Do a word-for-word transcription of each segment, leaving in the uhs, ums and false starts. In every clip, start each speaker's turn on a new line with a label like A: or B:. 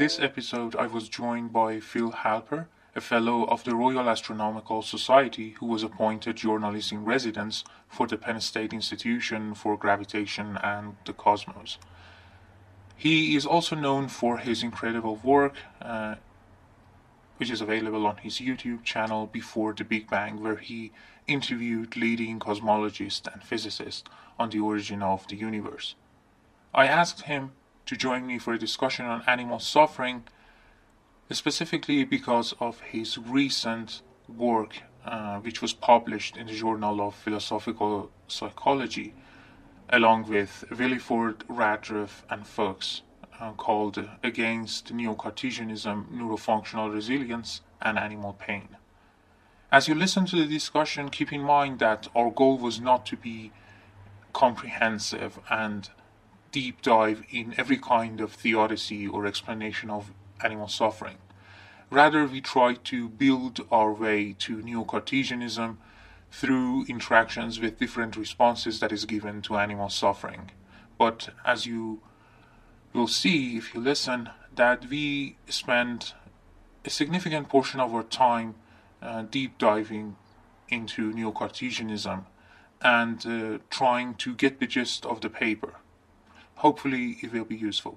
A: this episode, I was joined by Phil Halper, a Fellow of the Royal Astronomical Society who was appointed journalist in residence for the Penn State Institution for Gravitation and the Cosmos. He is also known for his incredible work, uh, which is available on his YouTube channel Before the Big Bang, where he interviewed leading cosmologists and physicists on the origin of the universe. I asked him to join me for a discussion on animal suffering, specifically because of his recent work, uh, which was published in the Journal of Philosophical Psychology, along with Williford, Radcliffe, and Fuchs, uh, called Against Neo-Cartesianism, Neurofunctional Resilience, and Animal Pain. As you listen to the discussion, keep in mind that our goal was not to be comprehensive and deep dive in every kind of theodicy or explanation of animal suffering. Rather, we try to build our way to Neo-Cartesianism through interactions with different responses that is given to animal suffering. But as you will see if you listen, that we spend a significant portion of our time uh, deep diving into Neo-Cartesianism and uh, trying to get the gist of the paper. Hopefully it will be useful.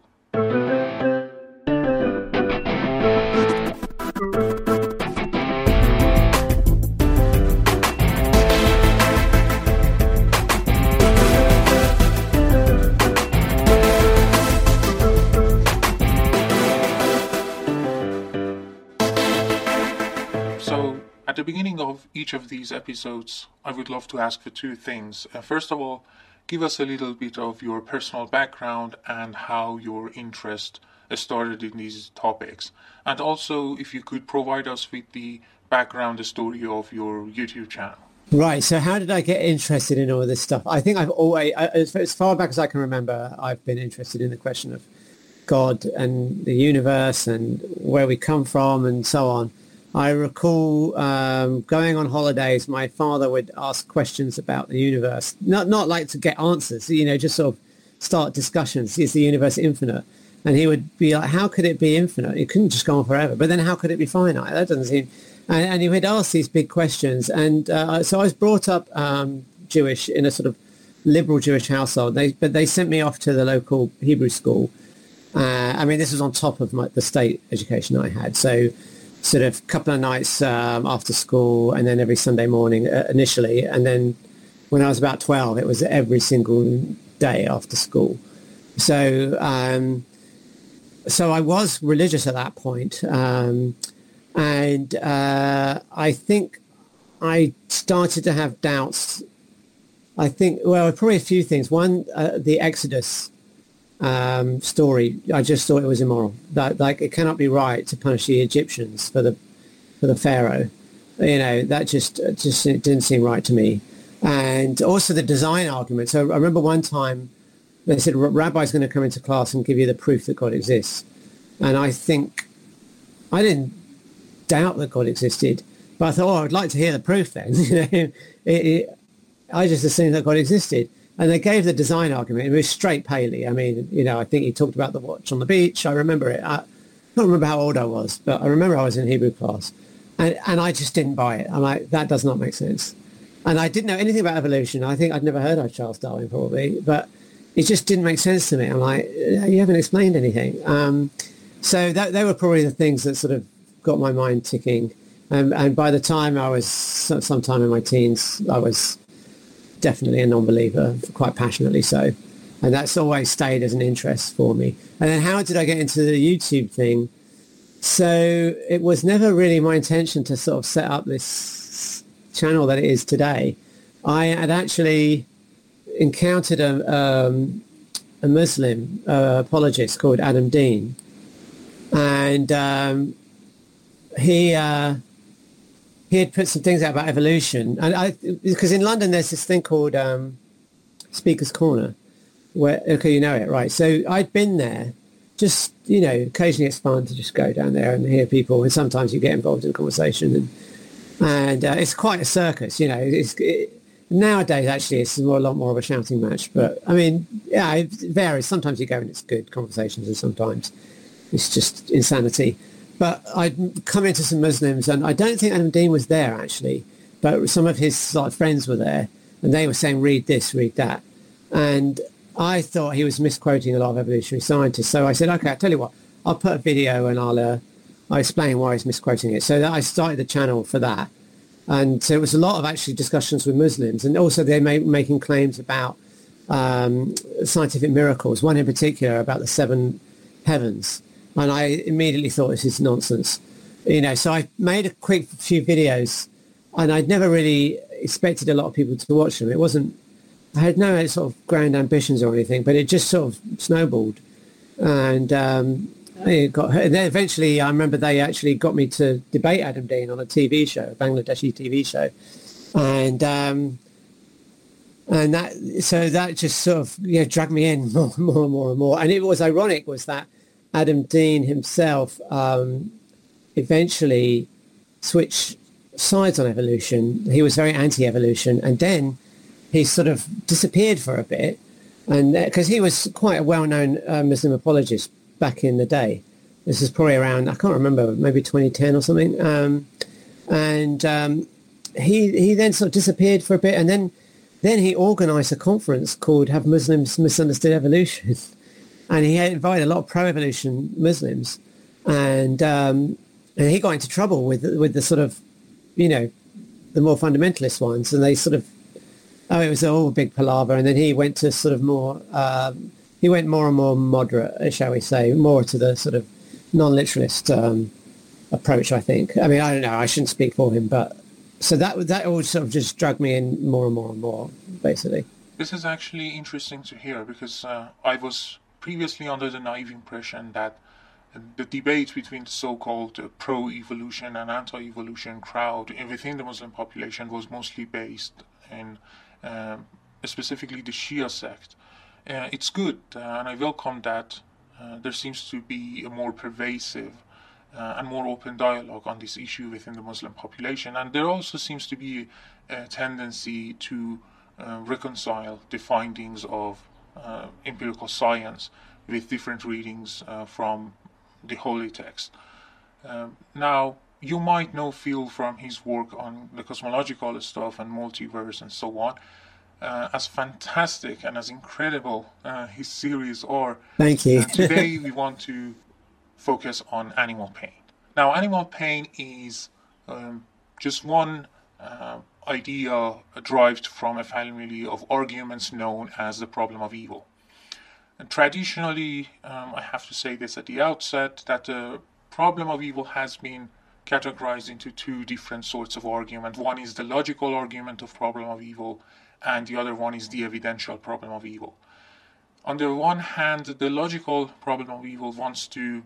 A: So, at the beginning of each of these episodes, I would love to ask for two things. Uh, first of all, give us a little bit of your personal background and how your interest started in these topics. And also, if you could provide us with the background, the story of your YouTube channel.
B: Right. So how did I get interested in all this stuff? I think I've always, as far back as I can remember, I've been interested in the question of God and the universe and where we come from and so on. I recall um, going on holidays, my father would ask questions about the universe, not not like to get answers, you know, just sort of start discussions. Is the universe infinite? And he would be like, how could it be infinite? It couldn't just go on forever. But then how could it be finite? That doesn't seem... And, and he would ask these big questions. And uh, so I was brought up um, Jewish in a sort of liberal Jewish household. They, but they sent me off to the local Hebrew school. Uh, I mean, this was on top of my, the state education I had. So sort of a couple of nights um, after school and then every Sunday morning uh, initially. And then when I was about twelve, it was every single day after school. So um, so I was religious at that point. Um, and uh, I think I started to have doubts. I think, well, probably a few things. One, uh, the Exodus Um, story. I just thought it was immoral. That like it cannot be right to punish the Egyptians for the for the Pharaoh. You know, that just just it didn't seem right to me. And also the design argument. So I remember one time they said Rabbi's going to come into class and give you the proof that God exists. And I think I didn't doubt that God existed, but I thought, oh, I'd like to hear the proof then. You know, it, it, I just assumed that God existed. And they gave the design argument. It was straight Paley. I mean, you know, I think he talked about the watch on the beach. I remember it. I don't remember how old I was, but I remember I was in Hebrew class. And, and I just didn't buy it. I'm like, that does not make sense. And I didn't know anything about evolution. I think I'd never heard of Charles Darwin probably, but it just didn't make sense to me. I'm like, you haven't explained anything. Um, so that, they were probably the things that sort of got my mind ticking. Um, and by the time I was sometime in my teens, I was definitely a non-believer, quite passionately so. And that's always stayed as an interest for me. And then how did I get into the YouTube thing? So it was never really my intention to sort of set up this channel that it is today. I had actually encountered a, um, a Muslim uh, apologist called Adam Dean. And um, he... Uh, he had put some things out about evolution. And I, because in London there's this thing called um, Speaker's Corner, where, okay, you know it, right? So I'd been there, just, you know, occasionally it's fun to just go down there and hear people, and sometimes you get involved in conversation. And, and uh, it's quite a circus, you know. It's, it, nowadays, actually, it's more, a lot more of a shouting match. But, I mean, yeah, it varies. Sometimes you go and it's good conversations, and sometimes it's just insanity. But I'd come into some Muslims, and I don't think Adam Dean was there actually, but some of his like friends were there, and they were saying, read this, read that. And I thought he was misquoting a lot of evolutionary scientists. So I said, okay, I'll tell you what, I'll put a video and I'll, uh, I'll explain why he's misquoting it. So that I started the channel for that. And so it was a lot of actually discussions with Muslims. And also they're ma- making claims about um, scientific miracles, one in particular about the seven heavens. And I immediately thought, this is nonsense. You know, so I made a quick few videos, and I'd never really expected a lot of people to watch them. It wasn't, I had no sort of grand ambitions or anything, but it just sort of snowballed. And um, it got, and then eventually I remember they actually got me to debate Adam Dean on a T V show, a Bangladeshi T V show. And um, and that, so that just sort of, yeah, dragged me in more and more and more and more. And it was ironic was that Adam Dean himself um, eventually switched sides on evolution. He was very anti-evolution, and then he sort of disappeared for a bit, and because he was quite a well-known uh, Muslim apologist back in the day. This is probably around, I can't remember, maybe twenty ten or something. Um, and um, he he then sort of disappeared for a bit, and then then he organised a conference called "Have Muslims Misunderstood Evolution?" And he had invited a lot of pro-evolution Muslims, and um, and he got into trouble with with the sort of, you know, the more fundamentalist ones, and they sort of, oh, it was all a big palaver, and then he went to sort of more, um, he went more and more moderate, shall we say, more to the sort of non-literalist um, approach, I think. I mean, I don't know, I shouldn't speak for him, but so that that all sort of just dragged me in more and more and more, basically.
A: This is actually interesting to hear, because uh, I was previously under the naive impression that the debate between the so-called uh, pro-evolution and anti-evolution crowd within the Muslim population was mostly based in um, specifically the Shia sect. Uh, it's good, uh, and I welcome that uh, there seems to be a more pervasive uh, and more open dialogue on this issue within the Muslim population. And there also seems to be a tendency to uh, reconcile the findings of uh, empirical science with different readings uh, from the holy text. Um, now, you might know Phil from his work on the cosmological stuff and multiverse and so on. Uh, as fantastic and as incredible uh, his series are.
B: Thank you.
A: uh, today we want to focus on animal pain. Now, animal pain is um, just one uh, idea derived from a family of arguments known as the problem of evil. And traditionally, um, I have to say this at the outset, that the problem of evil has been categorized into two different sorts of argument. One is the logical argument of problem of evil, and the other one is the evidential problem of evil. On the one hand, the logical problem of evil wants to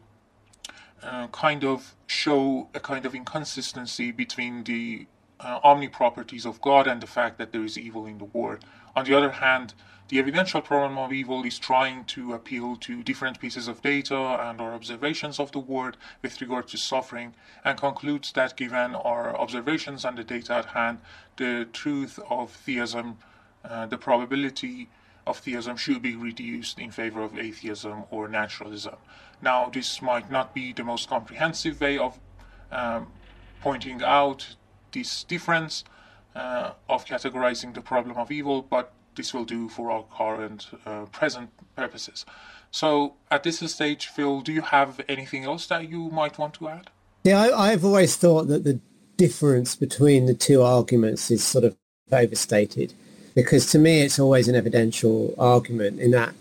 A: uh, kind of show a kind of inconsistency between the uh, omni-properties of God and the fact that there is evil in the world. On the other hand, the evidential problem of evil is trying to appeal to different pieces of data and our observations of the world with regard to suffering, and concludes that given our observations and the data at hand, the truth of theism, uh, the probability of theism should be reduced in favor of atheism or naturalism. Now, this might not be the most comprehensive way of um, pointing out this difference uh, of categorizing the problem of evil, but this will do for our current uh, present purposes. So at this stage, Phil, do you have anything else that you might want to add?
B: Yeah, I, I've always thought that the difference between the two arguments is sort of overstated, because to me it's always an evidential argument in that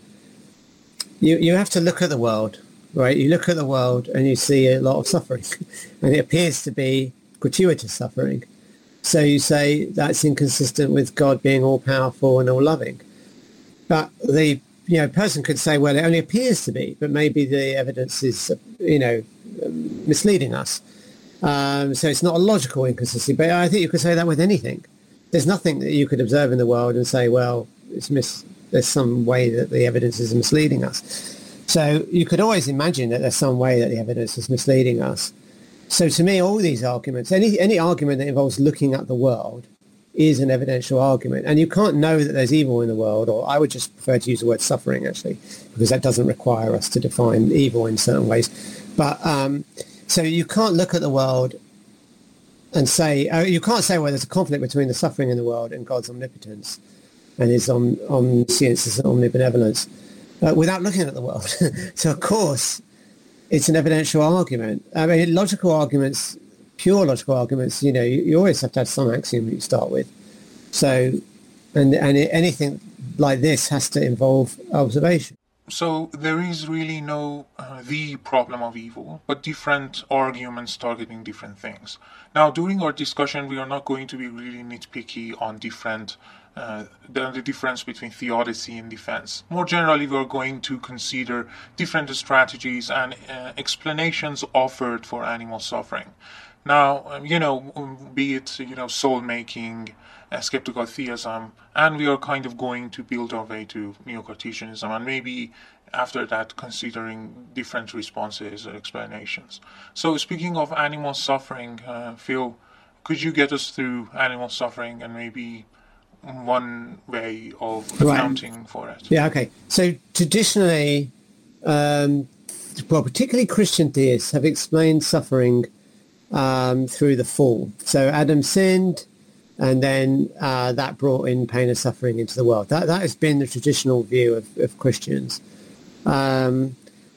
B: you, you have to look at the world, right? You look at the world and you see a lot of suffering, and it appears to be gratuitous suffering. So you say that's inconsistent with God being all-powerful and all-loving. But the you know person could say, well, it only appears to be, but maybe the evidence is, you know, misleading us. Um, so it's not a logical inconsistency. But I think you could say that with anything. There's nothing that you could observe in the world and say, well, it's mis- there's some way that the evidence is misleading us. So you could always imagine that there's some way that the evidence is misleading us. So to me, all these arguments, any any argument that involves looking at the world is an evidential argument. And you can't know that there's evil in the world, or I would just prefer to use the word suffering, actually, because that doesn't require us to define evil in certain ways. But um, so you can't look at the world and say, uh, you can't say, well, there's a conflict between the suffering in the world and God's omnipotence and his om- omniscience and omnibenevolence uh, without looking at the world. So, of course, it's an evidential argument. I mean, logical arguments, pure logical arguments, you know, you, you always have to have some axiom that you start with. So, and, and anything like this has to involve observation.
A: So there is really no uh, the problem of evil, but different arguments targeting different things. Now, during our discussion, we are not going to be really nitpicky on different uh, the, the difference between theodicy and defense. More generally, we are going to consider different strategies and uh, explanations offered for animal suffering. Now, um, you know, be it, you know, soul-making, uh, skeptical theism, and we are kind of going to build our way to Neo-Cartesianism, and maybe after that considering different responses or explanations. So speaking of animal suffering, uh, Phil, could you get us through animal suffering and maybe one way of accounting right. for it?
B: Yeah, okay. So traditionally, um, well, particularly Christian theists have explained suffering Um, through the fall. So Adam sinned, and then uh, that brought in pain and suffering into the world. That that has been the traditional view of, of Christians. Um,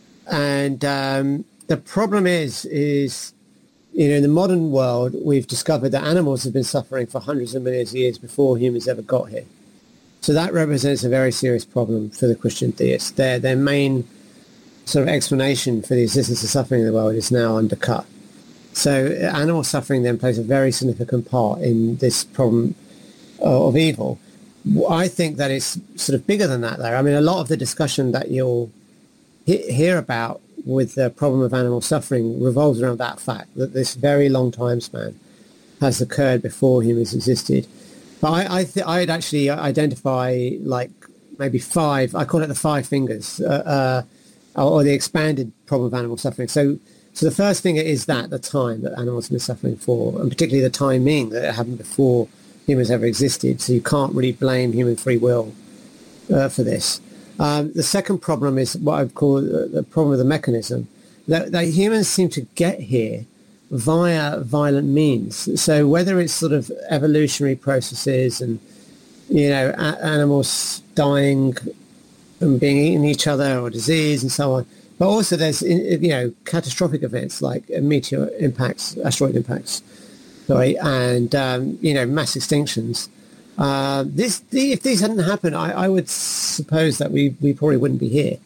B: and um, the problem is, is you know, in the modern world, we've discovered that animals have been suffering for hundreds of millions of years before humans ever got here. So that represents a very serious problem for the Christian theists. Their their main sort of explanation for the existence of suffering in the world is now undercut. So animal suffering then plays a very significant part in this problem of evil. I think that it's sort of bigger than that, though. I mean, a lot of the discussion that you'll he- hear about with the problem of animal suffering revolves around that fact, that this very long time span has occurred before humans existed. But I, I th- I'd actually identify like maybe five, I call it the five fingers, uh, uh, or the expanded problem of animal suffering. So So the first thing is that, the time that animals have been suffering for, and particularly the timing that it happened before humans ever existed. So you can't really blame human free will uh, for this. Um, the second problem is what I would call the problem of the mechanism, that, that humans seem to get here via violent means. So whether it's sort of evolutionary processes and, you know, a- animals dying and being eaten each other, or disease and so on, but also there's, you know, catastrophic events like meteor impacts, asteroid impacts, sorry, and, um, you know, mass extinctions. Uh, this, the, if these hadn't happened, I, I would suppose that we, we probably wouldn't be here.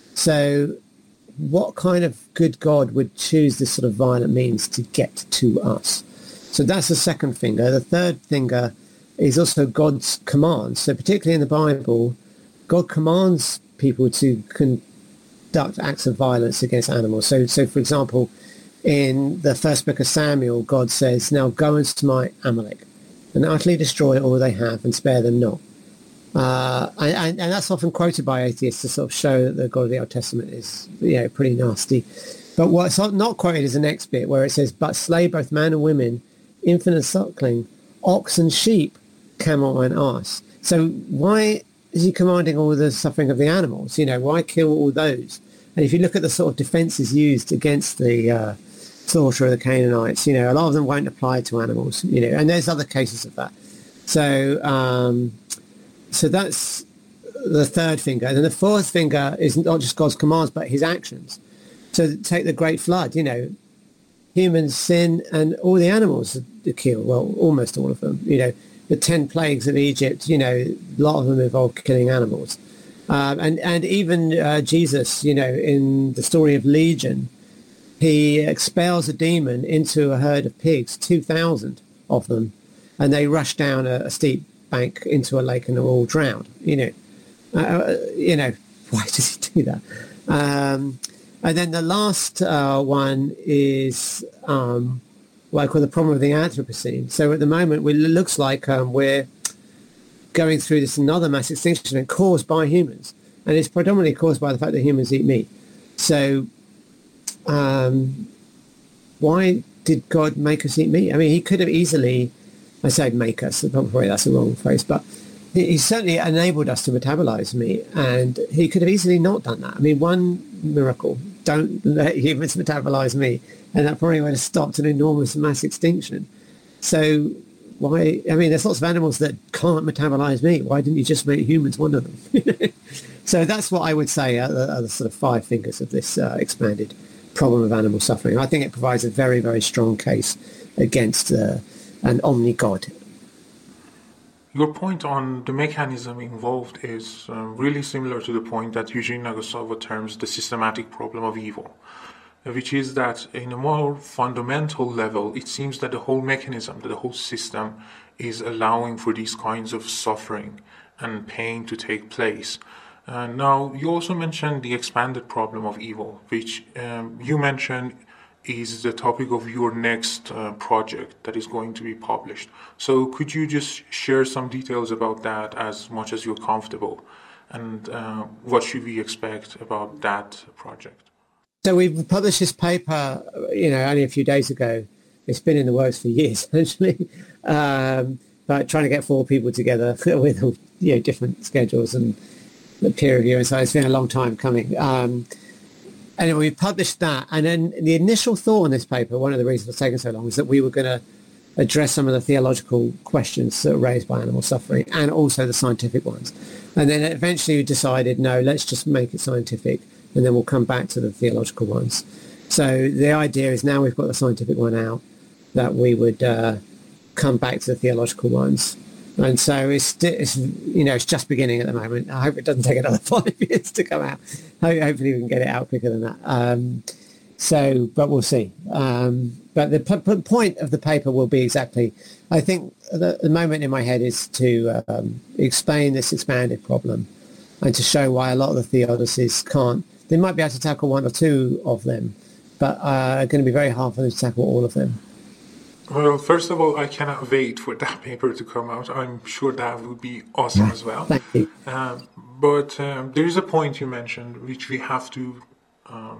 B: So what kind of good God would choose this sort of violent means to get to us? So that's the second finger. The third finger is also God's commands. So particularly in the Bible, God commands people to con- conduct acts of violence against animals. So, so for example, in the first book of Samuel, God says, now go and smite Amalek and utterly destroy all they have and spare them not. Uh, and, and that's often quoted by atheists to sort of show that the God of the Old Testament is, you know, pretty nasty. But what's not quoted is the next bit where it says, but slay both man and women, infant and suckling, ox and sheep, camel and ass. So why is he commanding all the suffering of the animals? You know, why kill all those? And if you look at the sort of defences used against the uh, slaughter of the Canaanites, you know, a lot of them won't apply to animals, you know, and there's other cases of that. So, um, so that's the third finger. And then the fourth finger is not just God's commands, but his actions. So take the Great Flood, you know, humans sin and all the animals are killed. Well, almost all of them, you know. The ten plagues of Egypt, you know, a lot of them involve killing animals. Um, and, and even uh, Jesus, you know, in the story of Legion, he expels a demon into a herd of pigs, two thousand of them, and they rush down a, a steep bank into a lake and they're all drowned, you know. Uh, you know, why does he do that? Um, and then the last uh, one is... Um, what I call the problem of the Anthropocene. So at the moment, we, it looks like um, we're going through this another mass extinction event caused by humans. And it's predominantly caused by the fact that humans eat meat. So um, why did God make us eat meat? I mean, he could have easily I say make us, probably that's the wrong phrase, but he, he certainly enabled us to metabolize meat, and he could have easily not done that. I mean, one miracle, don't let humans metabolize meat, and that probably would have stopped an enormous mass extinction. So why, I mean, there's lots of animals that can't metabolize meat. Why didn't you just make humans one of them? So that's what I would say are the, are the sort of five fingers of this uh, expanded problem of animal suffering. I think it provides a very, very strong case against uh, an omni-god.
A: Your point on the mechanism involved is uh, really similar to the point that Eugene Nagasawa terms the systematic problem of evil, which is that in a more fundamental level, it seems that the whole mechanism, that the whole system is allowing for these kinds of suffering and pain to take place. Uh, now, you also mentioned the expanded problem of evil, which um, you mentioned is the topic of your next uh, project that is going to be published. So could you just share some details about that as much as you're comfortable? And uh, what should we expect about that project?
B: So we published this paper, you know, only a few days ago. It's been in the works for years, actually, um, but trying to get four people together with, you know, different schedules and the peer review, and so it's been a long time coming. Um, anyway, we published that, and then the initial thought on this paper, one of the reasons it's taken so long, is that we were going to address some of the theological questions that are raised by animal suffering and also the scientific ones. And then eventually we decided, no, let's just make it scientific, and then we'll come back to the theological ones. So the idea is now we've got the scientific one out, that we would uh, come back to the theological ones. And so it's, it's, you know, it's just beginning at the moment. I hope it doesn't take another five years to come out. Hopefully we can get it out quicker than that. Um, so, but we'll see. Um, but the p- p- point of the paper will be exactly, I think the, the moment in my head is to um, explain this expanded problem and to show why a lot of the theodicies can't. They might be able to tackle one or two of them, but uh, it's going to be very hard for them to tackle all of them.
A: Well, first of all, I cannot wait for that paper to come out. I'm sure that would be awesome as well.
B: Thank you.
A: Um, but um, there is a point you mentioned which we have to um,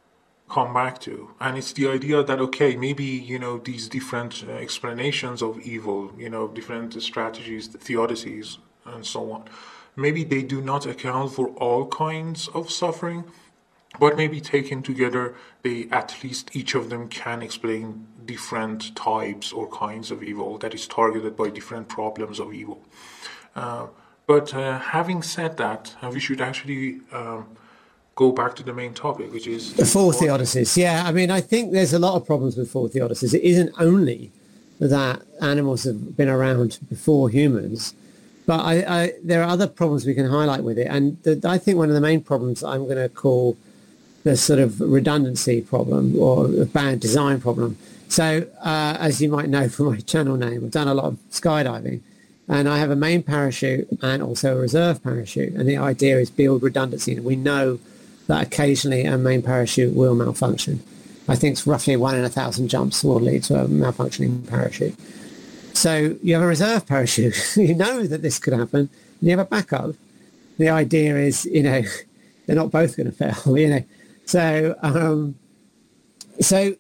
A: come back to. And it's the idea that, okay, maybe, you know, these different uh, explanations of evil, you know, different strategies, the theodicies, and so on, maybe they do not account for all kinds of suffering, but maybe taken together, they at least each of them can explain different types or kinds of evil that is targeted by different problems of evil. Uh, but uh, having said that, uh, we should actually um, go back to the main topic, which is...
B: The four theodicies, yeah. I mean, I think there's a lot of problems with four theodicies. It isn't only that animals have been around before humans, but I, I, there are other problems we can highlight with it. And the, I think one of the main problems I'm going to call the sort of redundancy problem or a bad design problem. So uh, as you might know from my channel name, I've done a lot of skydiving, and I have a main parachute and also a reserve parachute. And the idea is build redundancy. And we know that occasionally a main parachute will malfunction. I think it's roughly one in a thousand jumps will lead to a malfunctioning parachute. So you have a reserve parachute. You know that this could happen. And you have a backup. The idea is, you know, they're not both going to fail, you know. So, um, so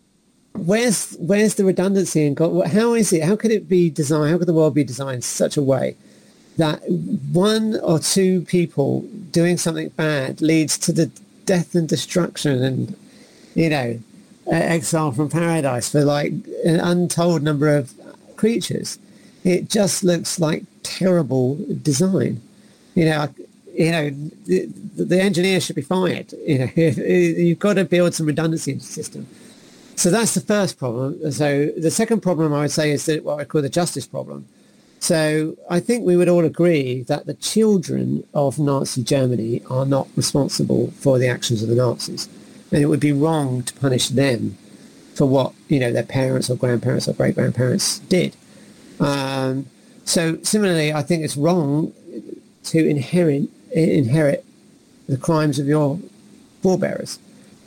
B: where's where's the redundancy in God? How is it? How could it be designed? How could the world be designed in such a way that one or two people doing something bad leads to the death and destruction and, you know, exile from paradise for like an untold number of creatures? It just looks like terrible design, you know. You know, the, the engineer should be fired. You know, you've got to build some redundancy in the system. So that's the first problem. So the second problem I would say is that what I call the justice problem. So I think we would all agree that the children of Nazi Germany are not responsible for the actions of the Nazis, and it would be wrong to punish them for what, you know, their parents or grandparents or great-grandparents did. Um, so similarly, I think it's wrong to inherit inherit the crimes of your forebearers.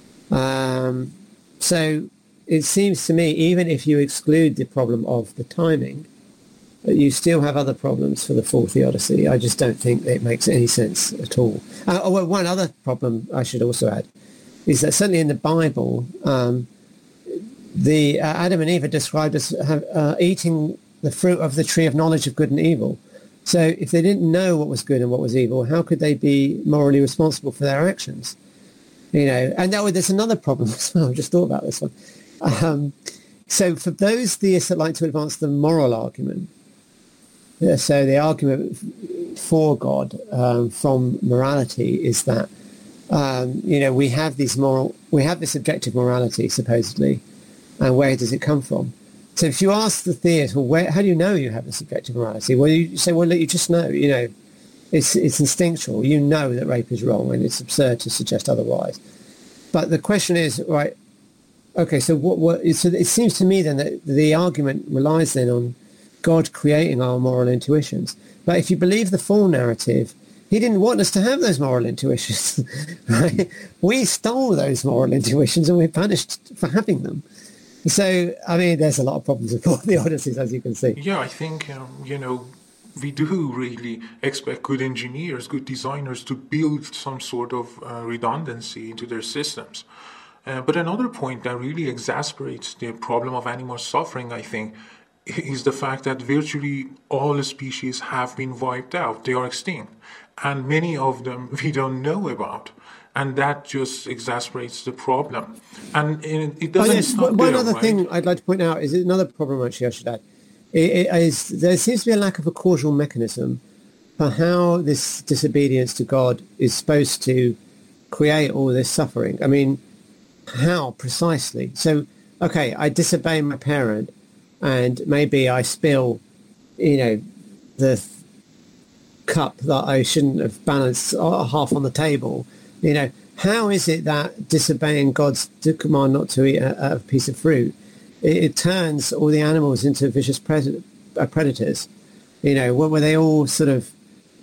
B: Um, so it seems to me, even if you exclude the problem of the timing, you still have other problems for the full theodicy. I just don't think it makes any sense at all. Uh, oh, well, one other problem I should also add is that certainly in the Bible, um, the uh, Adam and Eve are described as have, uh, eating the fruit of the tree of knowledge of good and evil. So if they didn't know what was good and what was evil, how could they be morally responsible for their actions? You know, and that, there's another problem as well. I just thought about this one. Um, so for those theists that like to advance the moral argument, yeah, so the argument for God um, from morality is that, um, you know, we have these moral, we have this objective morality, supposedly, and where does it come from? So if you ask the theist, well, where, how do you know you have this objective morality? Well, you say, well, look, you just know, you know, it's it's instinctual. You know that rape is wrong, and it's absurd to suggest otherwise. But the question is, right, okay, so what, what so it seems to me then that the argument relies then on God creating our moral intuitions. But if you believe the full narrative, he didn't want us to have those moral intuitions, right? We stole those moral intuitions and we're punished for having them. So, I mean, there's a lot of problems with all the Odysseys, as you can see.
A: Yeah, I think, um, you know, we do really expect good engineers, good designers to build some sort of uh, redundancy into their systems. Uh, but another point that really exasperates the problem of animal suffering, I think, is the fact that virtually all species have been wiped out. They are extinct. And many of them we don't know about. And that just exasperates the problem. And it, it doesn't
B: oh, yes.
A: stop
B: One
A: there,
B: other
A: right?
B: thing I'd like to point out is another problem, actually, I should add. It, it is, there seems to be a lack of a causal mechanism for how this disobedience to God is supposed to create all this suffering. I mean, how precisely? So, okay, I disobey my parent, and maybe I spill, you know, the cup that I shouldn't have balanced half on the table. You know, how is it that disobeying God's command not to eat a, a piece of fruit, it, it turns all the animals into vicious pred- uh, predators? You know, what were they all sort of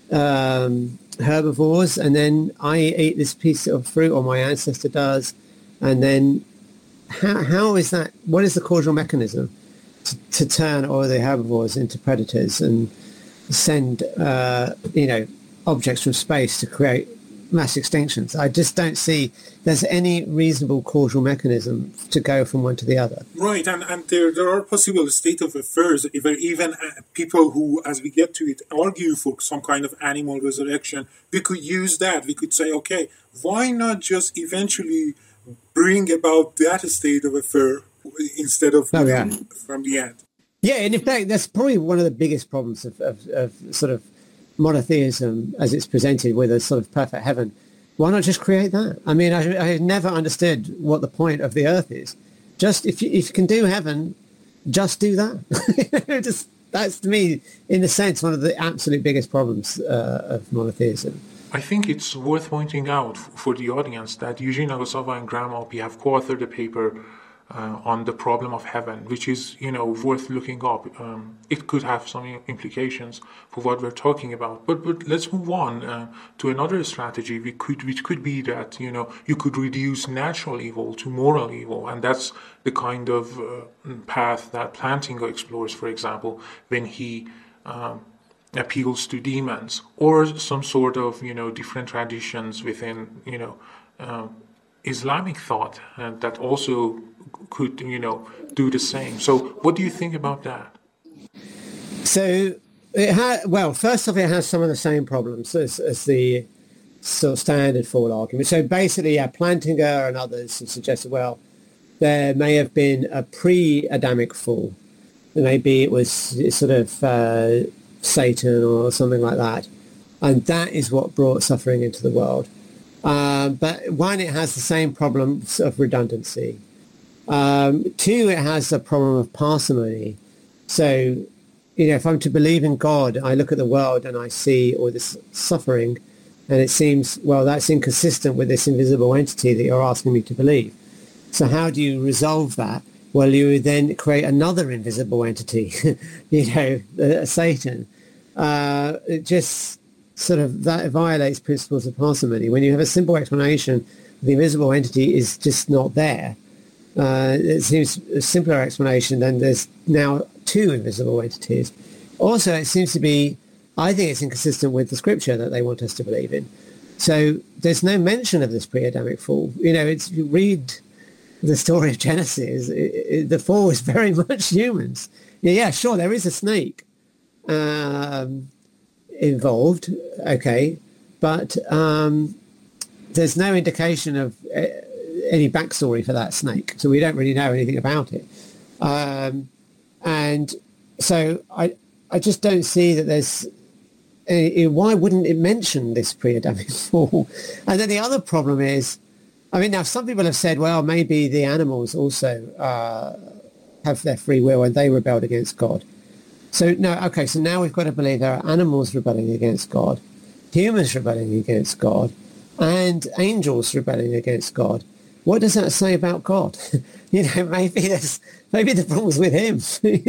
B: um, herbivores, and then I eat this piece of fruit, or my ancestor does, and then how how is that? What is the causal mechanism to, to turn all the herbivores into predators and send uh, you know objects from space to create mass extinctions? I just don't see there's any reasonable causal mechanism to go from one to the other.
C: Right, and, and there there are possible state of affairs, even, even uh, people who, as we get to it, argue for some kind of animal resurrection. We could use that. We could say, okay, why not just eventually bring about that state of affair instead of
B: oh, yeah.
C: from the end?
B: Yeah, and in fact, that's probably one of the biggest problems of, of, of sort of monotheism as it's presented with a sort of perfect heaven. Why not just create that? I mean, I, I never understood what the point of the earth is. Just if you, if you can do heaven, just do that. just that's to me, in a sense, one of the absolute biggest problems uh, of monotheism.
A: I think it's worth pointing out for the audience that Eugene Nagasawa and Graham Alpe have co-authored a paper uh, on the problem of heaven, which is, you know, worth looking up. Um, it could have some implications for what we're talking about. But but let's move on uh, to another strategy, which could, which could be that, you know, you could reduce natural evil to moral evil. And that's the kind of uh, path that Plantinga explores, for example, when he um, appeals to demons, or some sort of, you know, different traditions within, you know, uh, Islamic thought uh, that also could, you know, do the same. So what do you think about that?
B: So, it ha- well, first off, it has some of the same problems as, as the sort of standard fall argument. So basically, yeah, Plantinga and others have suggested, well, there may have been a pre-Adamic fall. Maybe it was sort of uh, Satan or something like that. And that is what brought suffering into the world. Um, but one, it has the same problems of redundancy. Um, two, it has a problem of parsimony. So, you know, if I'm to believe in God, I look at the world and I see all this suffering, and it seems, well, that's inconsistent with this invisible entity that you're asking me to believe. So how do you resolve that? Well, you would then create another invisible entity, you know, uh, Satan. Uh, it just sort of, that violates principles of parsimony. When you have a simple explanation, the invisible entity is just not there. Uh, it seems a simpler explanation than there's now two invisible entities. Also, it seems to be, I think it's inconsistent with the scripture that they want us to believe in. So there's no mention of this pre-Adamic fall. You know, it's, you read the story of Genesis, it, it, the fall is very much humans. yeah, yeah, sure, there is a snake um, involved, okay, but um, there's no indication of uh, any backstory for that snake, so we don't really know anything about it. Um, and so I, I just don't see that there's any, why wouldn't it mention this pre-Adamic fall? And then the other problem is, I mean, now some people have said, well, maybe the animals also uh, have their free will and they rebelled against God. So no, okay, so now we've got to believe there are animals rebelling against God, humans rebelling against God, and angels rebelling against God. What does that say about God? you know, maybe there's, maybe the problem's with him.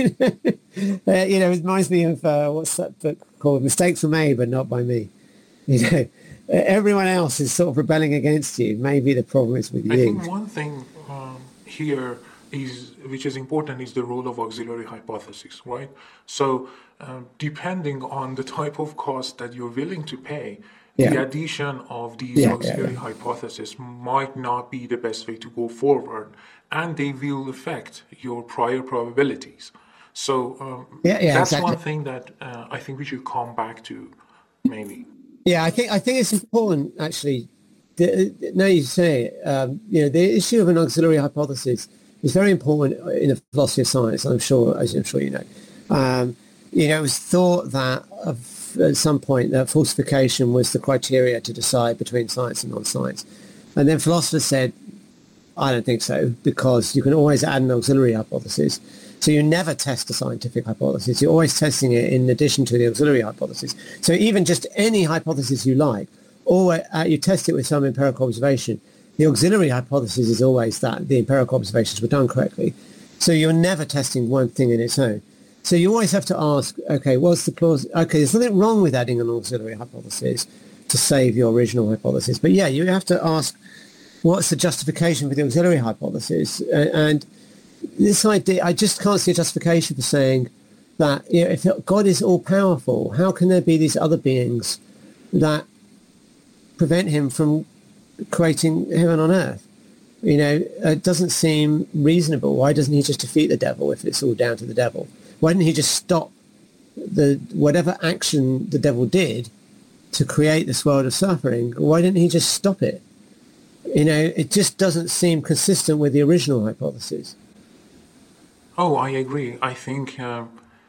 B: uh, you know, it reminds me of, uh, what's that book called? Mistakes Were Made, but Not by Me. You know, everyone else is sort of rebelling against you. Maybe the problem is with you.
A: I think one thing um, here is, which is important, is the role of auxiliary hypothesis, right? So um, depending on the type of cost that you're willing to pay, yeah. the addition of these yeah, auxiliary yeah, yeah. hypotheses might not be the best way to go forward, and they will affect your prior probabilities. So um,
B: yeah, yeah,
A: that's
B: exactly.
A: one thing that uh, I think we should come back to, maybe.
B: Yeah, I think I think it's important, actually. The, now you say it, um, you know, the issue of an auxiliary hypothesis is very important in the philosophy of science. I'm sure, as I'm sure you know. Um, you know, it was thought that of, at some point that falsification was the criteria to decide between science and non-science, and then philosophers said, I don't think so, because you can always add an auxiliary hypothesis. So you never test a scientific hypothesis. You're always testing it in addition to the auxiliary hypothesis. So even just any hypothesis you like, or uh, you test it with some empirical observation, the auxiliary hypothesis is always that the empirical observations were done correctly. So you're never testing one thing in its own. So you always have to ask, okay, what's the clause? Okay, there's nothing wrong with adding an auxiliary hypothesis to save your original hypothesis. But yeah, you have to ask, what's the justification for the auxiliary hypothesis? Uh, and this idea, I just can't see a justification for saying that, you know, if God is all-powerful, how can there be these other beings that prevent him from creating heaven on earth? You know, it doesn't seem reasonable. Why doesn't he just defeat the devil if it's all down to the devil? Why didn't he just stop the whatever action the devil did to create this world of suffering? Why didn't he just stop it? You know, it just doesn't seem consistent with the original hypothesis.
A: Oh, I agree. I think uh,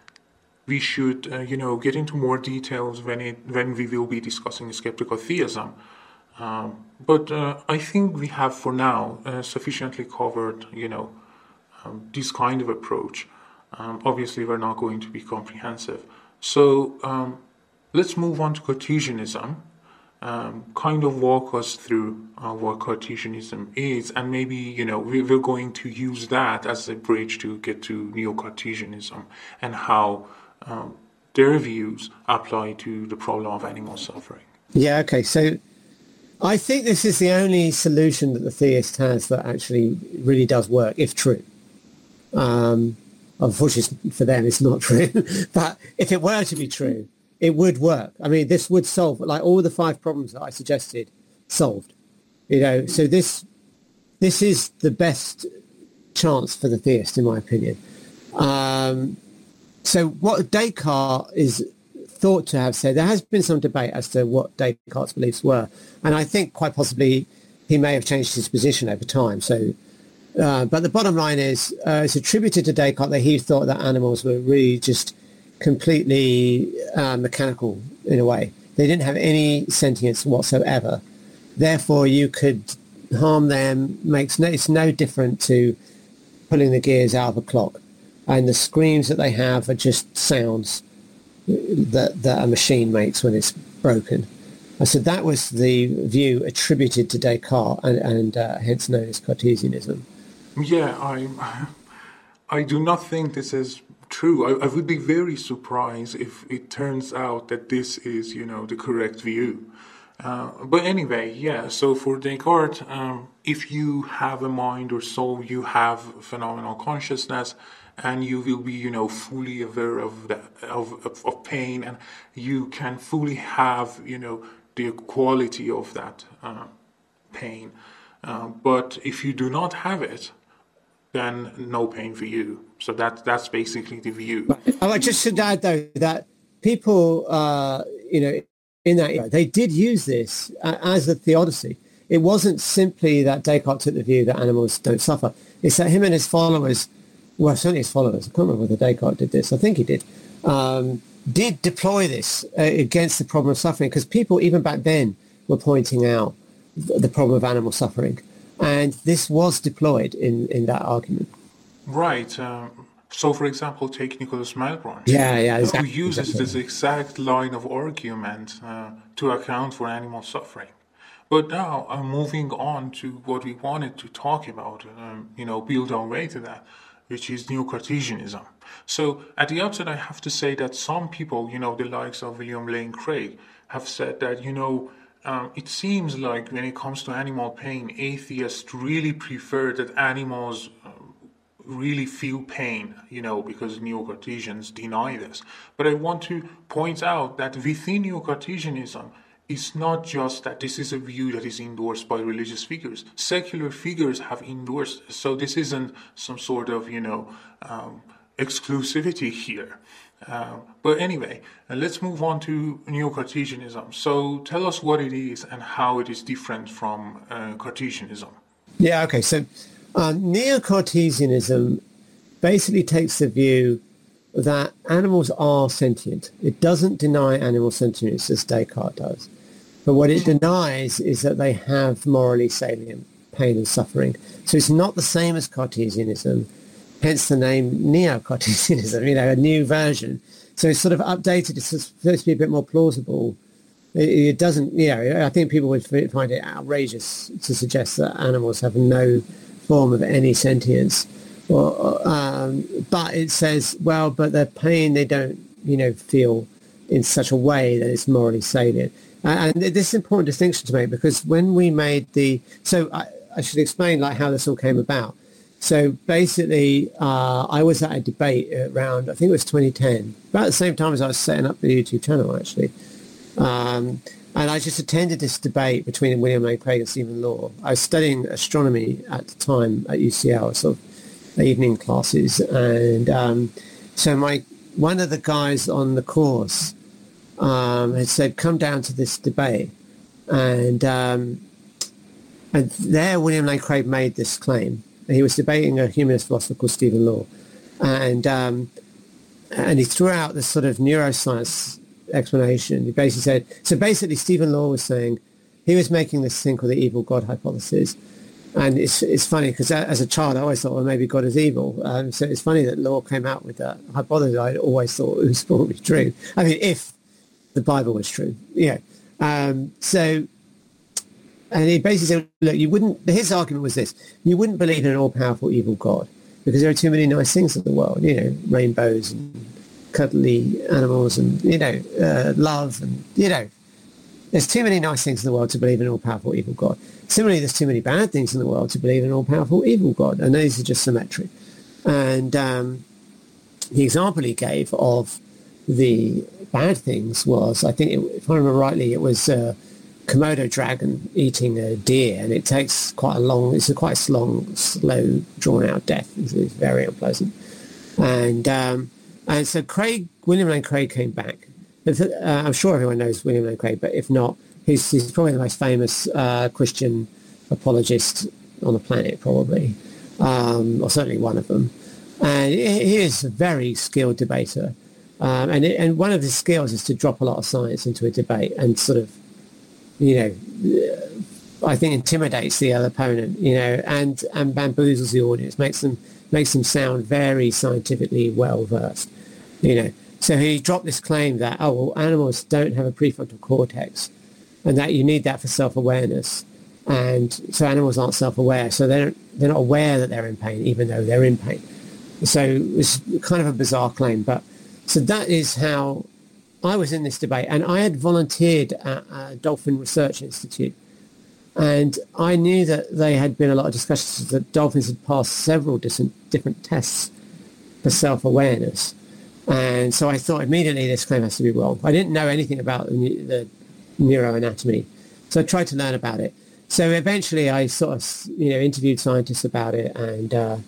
A: we should, uh, you know, get into more details when it when we will be discussing skeptical theism. Um, but uh, I think we have, for now, uh, sufficiently covered, you know, um, this kind of approach. Um, obviously, we're not going to be comprehensive. So um, let's move on to Cartesianism. Um, kind of walk us through uh, what Cartesianism is, and maybe, you know, we, we're going to use that as a bridge to get to Neo-Cartesianism and how um, their views apply to the problem of animal suffering.
B: Yeah, okay, so I think this is the only solution that the theist has that actually really does work, if true. Um, unfortunately for them, it's not true, but if it were to be true, it would work. I mean, this would solve, like, all the five problems that I suggested solved. You know, so this this is the best chance for the theist, in my opinion. Um, so what Descartes is thought to have said, there has been some debate as to what Descartes' beliefs were, and I think quite possibly he may have changed his position over time. So, uh, but the bottom line is, uh, it's attributed to Descartes that he thought that animals were really just completely uh, mechanical in a way. They didn't have any sentience whatsoever. Therefore, you could harm them. Makes no, it's no different to pulling the gears out of a clock. And the screams that they have are just sounds that, that a machine makes when it's broken. So that was the view attributed to Descartes, and, and uh, hence known as Cartesianism.
A: Yeah, I, I do not think this is true. I, I would be very surprised if it turns out that this is, you know, the correct view. Uh, but anyway, yeah, so for Descartes, um, if you have a mind or soul, you have phenomenal consciousness, and you will be, you know, fully aware of the, of, of, of pain, and you can fully have, you know, the quality of that uh, pain. Uh, but if you do not have it, then no pain for you. So that that's basically the view.
B: I just should add, though, that people, uh, you know, in that era, they did use this uh, as a theodicy. It wasn't simply that Descartes took the view that animals don't suffer. It's that him and his followers, well, certainly his followers, I can't remember whether Descartes did this, I think he did, um, did deploy this uh, against the problem of suffering, because people, even back then, were pointing out the problem of animal suffering. And this was deployed in, in that argument.
A: Right. Um, so, for example, take Nicholas Malebranche,
B: yeah, yeah, exactly,
A: who uses
B: exactly.
A: this exact line of argument uh, to account for animal suffering. But now, uh, moving on to what we wanted to talk about, um, you know, build our way to that, which is Neo-Cartesianism. So, at the outset, I have to say that some people, you know, the likes of William Lane Craig, have said that, you know, Um, it seems like when it comes to animal pain, atheists really prefer that animals uh, really feel pain, you know, because Neo-Cartesians deny this. But I want to point out that within Neo-Cartesianism, it's not just that this is a view that is endorsed by religious figures. Secular figures have endorsed this. So this isn't some sort of, you know, um, exclusivity here. Uh, but anyway, uh, let's move on to Neo-Cartesianism. So tell us what it is and how it is different from uh, Cartesianism.
B: Yeah, okay. So uh, Neo-Cartesianism basically takes the view that animals are sentient. It doesn't deny animal sentience as Descartes does. But what it denies is that they have morally salient pain and suffering. So it's not the same as Cartesianism. Hence the name Neo-Cartesianism, you know, a new version. So it's sort of updated. It's supposed to be a bit more plausible. It, it doesn't, you know, I think people would find it outrageous to suggest that animals have no form of any sentience. Or, um, but it says, well, but their pain, they don't, you know, feel in such a way that it's morally salient. And this is an important distinction to make, because when we made the, so I, I should explain like how this all came about. So basically, uh, I was at a debate around, I think it was twenty ten, about the same time as I was setting up the YouTube channel, actually. Um, and I just attended this debate between William Lane Craig and Stephen Law. I was studying astronomy at the time at U C L, sort of evening classes. And um, so my one of the guys on the course um, had said, come down to this debate. And, um, and there William Lane Craig made this claim. He was debating a humanist philosopher called Stephen Law, and um, and he threw out this sort of neuroscience explanation. He basically said, so basically Stephen Law was saying, he was making this thing called the evil God hypothesis, and it's it's funny because as a child I always thought, well, maybe God is evil. Um, so it's funny that Law came out with that hypothesis. I always thought it was probably true. I mean, if the Bible was true, yeah. Um, so. And he basically said, look, you wouldn't, his argument was this, you wouldn't believe in an all-powerful evil God because there are too many nice things in the world, you know, rainbows and cuddly animals and, you know, uh, love and, you know, there's too many nice things in the world to believe in an all-powerful evil God. Similarly, there's too many bad things in the world to believe in an all-powerful evil God, and these are just symmetric. And um, the example he gave of the bad things was, I think, it, if I remember rightly, it was... Uh, Komodo dragon eating a deer, and it takes quite a long, it's a quite long, slow, drawn-out death. It's, it's very unpleasant. And um, and so Craig, William Lane Craig came back. Uh, I'm sure everyone knows William Lane Craig, but if not, he's, he's probably the most famous uh, Christian apologist on the planet, probably, um, or certainly one of them. And he, he is a very skilled debater. Um, and, it, and one of his skills is to drop a lot of science into a debate and sort of, you know, I think intimidates the other opponent, you know, and, and bamboozles the audience, makes them makes them sound very scientifically well versed, you know. So he dropped this claim that, oh, well, animals don't have a prefrontal cortex, and that you need that for self-awareness, and so animals aren't self-aware, so they don't they're not aware that they're in pain, even though they're in pain. So it's kind of a bizarre claim, but so that is how I was in this debate, and I had volunteered at uh, Dolphin Research Institute, and I knew that they had been a lot of discussions that dolphins had passed several different, different tests for self-awareness. And so I thought immediately this claim has to be wrong. I didn't know anything about the, the neuroanatomy, so I tried to learn about it. So eventually I sort of, you know, interviewed scientists about it, and uh,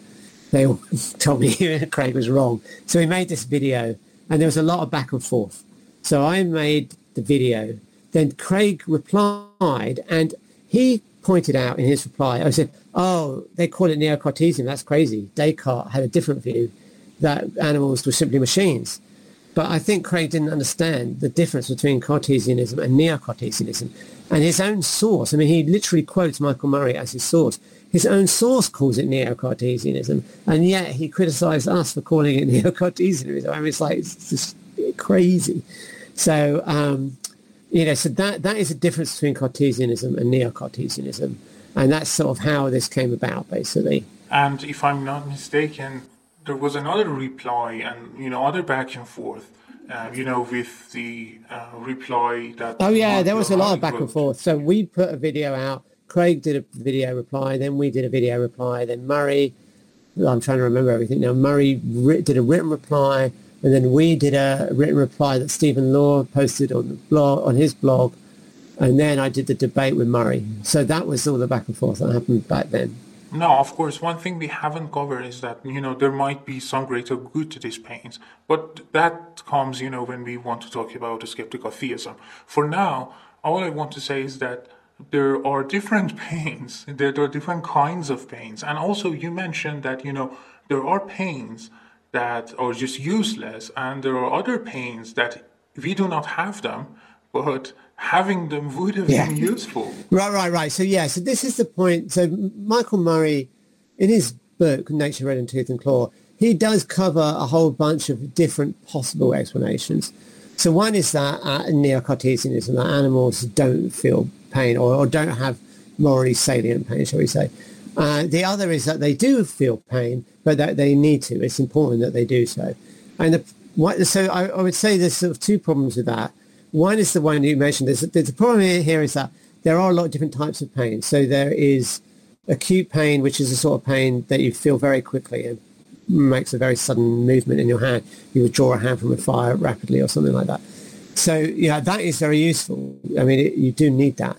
B: they all told me Craig was wrong. So we made this video, and there was a lot of back and forth. So I made the video. Then Craig replied, and he pointed out in his reply, I said, oh, they call it Neo-Cartesian. That's crazy. Descartes had a different view that animals were simply machines. But I think Craig didn't understand the difference between Cartesianism and Neo-Cartesianism. And his own source, I mean, he literally quotes Michael Murray as his source. His own source calls it Neo-Cartesianism, and yet he criticized us for calling it Neo-Cartesianism. I mean, it's like, it's just crazy. So, um, you know, so that, that is a difference between Cartesianism and Neo-Cartesianism. And that's sort of how this came about, basically.
A: And if I'm not mistaken, there was another reply and, you know, other back and forth, uh, you know, with the uh, reply that...
B: Oh, yeah, there was a lot of back and forth. So we put a video out. Craig did a video reply. Then we did a video reply. Then Murray, I'm trying to remember everything now. Murray did a written reply. And then we did a written reply that Stephen Law posted on the blog, on his blog. And then I did the debate with Murray. So that was all the back and forth that happened back then.
A: No, of course, one thing we haven't covered is that, you know, there might be some greater good to these pains. But that comes, you know, when we want to talk about skeptical theism. For now, all I want to say is that there are different pains. There are different kinds of pains. And also you mentioned that, you know, there are pains that are just useless, and there are other pains that we do not have them, but having them would have yeah. been useful.
B: Right, right, right. So, yeah, so this is the point. So Michael Murray, in his book, Nature, Red in Tooth and Claw, he does cover a whole bunch of different possible explanations. So one is that uh, Neo-Cartesianism, that animals don't feel pain or, or don't have morally salient pain, shall we say. Uh, the other is that they do feel pain, but that they need to. It's important that they do so. And the, what, so I, I would say there's sort of two problems with that. One is the one you mentioned. There's, there's the problem here is that there are a lot of different types of pain. So there is acute pain, which is a sort of pain that you feel very quickly and makes a very sudden movement in your hand. You would draw a hand from a fire rapidly or something like that. So, yeah, that is very useful. I mean, it, you do need that.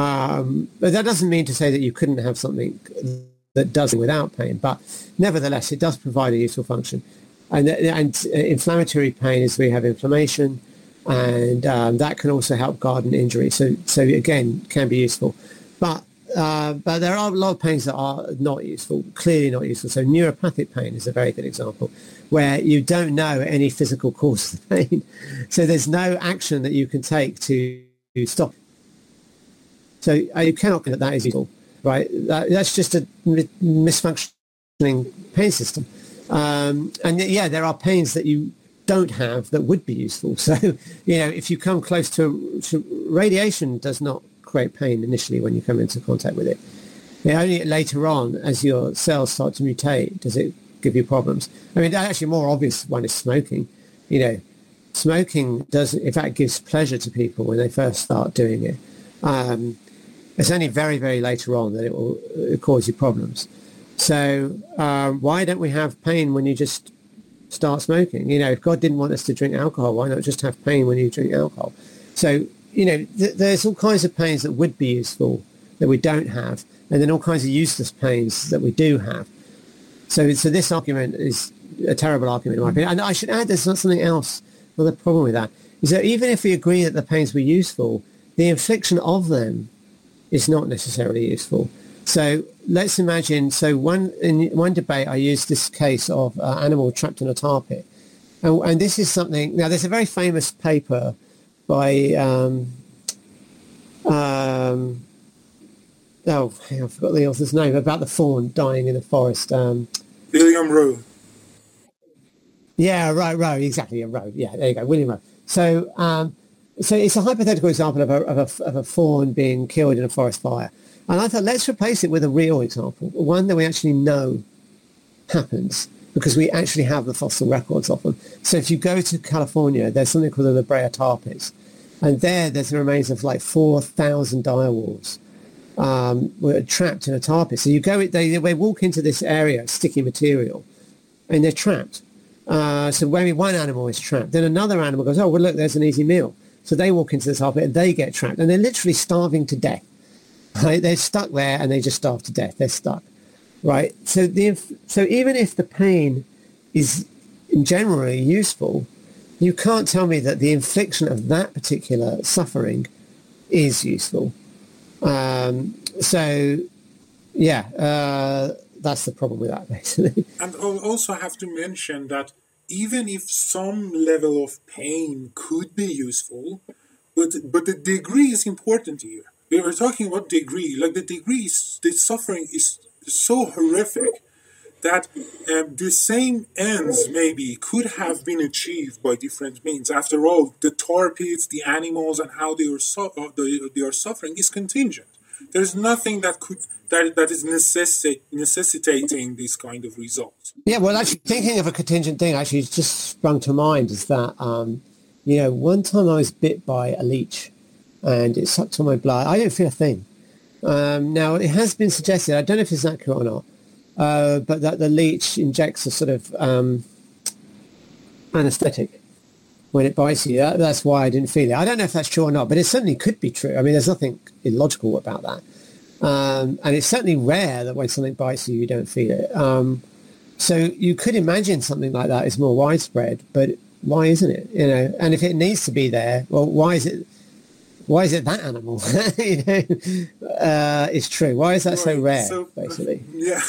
B: Um, but that doesn't mean to say that you couldn't have something that does it without pain. But nevertheless, it does provide a useful function. And, and inflammatory pain is where you have inflammation. And um, that can also help guard an injury. So, so again, can be useful. But uh, but there are a lot of pains that are not useful, clearly not useful. So neuropathic pain is a very good example, where you don't know any physical cause of the pain. So there's no action that you can take to, to stop. So uh, you cannot think that that is useful, right? That, that's just a mi- misfunctioning pain system. Um, and yeah, there are pains that you don't have that would be useful. So, you know, if you come close to, to radiation does not create pain initially when you come into contact with it. You know, only later on, as your cells start to mutate, does it give you problems. I mean, actually a more obvious one is smoking. You know, smoking does, in fact, gives pleasure to people when they first start doing it. Um, it's only very, very later on that it will uh, cause you problems. So um, why don't we have pain when you just start smoking? You know, if God didn't want us to drink alcohol, why not just have pain when you drink alcohol? So, you know, th- there's all kinds of pains that would be useful that we don't have, and then all kinds of useless pains that we do have. So, so this argument is a terrible argument in my opinion. And I should add, there's not something else. Another problem with that is that even if we agree that the pains were useful, the infliction of them is not necessarily useful. So let's imagine, so one in one debate I used this case of an uh, animal trapped in a tar pit. And, and this is something, now there's a very famous paper by, um, um, oh, I forgot the author's name, about the fawn dying in the forest. Um,
C: William Rowe.
B: Yeah, Rowe, Rowe, exactly, yeah, Rowe. Yeah, there you go, William Rowe. So, um, so it's a hypothetical example of a, of, a, of a fawn being killed in a forest fire. And I thought, let's replace it with a real example, one that we actually know happens because we actually have the fossil records of them. So if you go to California, there's something called the La Brea tar pits. And there, there's the remains of like four thousand direwolves um, were trapped in a tar pit. So you go, they, they walk into this area, sticky material, and they're trapped. Uh, so when one animal is trapped, then another animal goes, oh, well, look, there's an easy meal. So they walk into the tar pit and they get trapped. And they're literally starving to death. Right? They're stuck there and they just starve to death. They're stuck. right? So the inf- so even if the pain is generally useful, you can't tell me that the infliction of that particular suffering is useful. Um, so, yeah, uh, that's the problem with that, basically.
C: And I'll also have to mention that even if some level of pain could be useful, but but the degree is important here. We were talking about degree, like the degree, is, the suffering is so horrific that um, the same ends maybe could have been achieved by different means. After all, the tar pits, the animals, and how they are su- uh, they, they are suffering is contingent. There's nothing that could that that is necessi- necessitating this kind of results.
B: Yeah, well, actually, thinking of a contingent thing actually just sprung to mind is that, um, you know, one time I was bit by a leech and it sucked on my blood. I didn't feel a thing. Um, now, it has been suggested, I don't know if it's accurate or not, uh, but that the leech injects a sort of um, anesthetic when it bites you. That, that's why I didn't feel it. I don't know if that's true or not, but it certainly could be true. I mean, there's nothing illogical about that. Um, and it's certainly rare that when something bites you, you don't feel it. Um, so you could imagine something like that is more widespread, but why isn't it? You know, and if it needs to be there, well, why is it? Why is it that animal? you know, uh, it's true. Why is that right. so rare? So, basically,
C: yeah.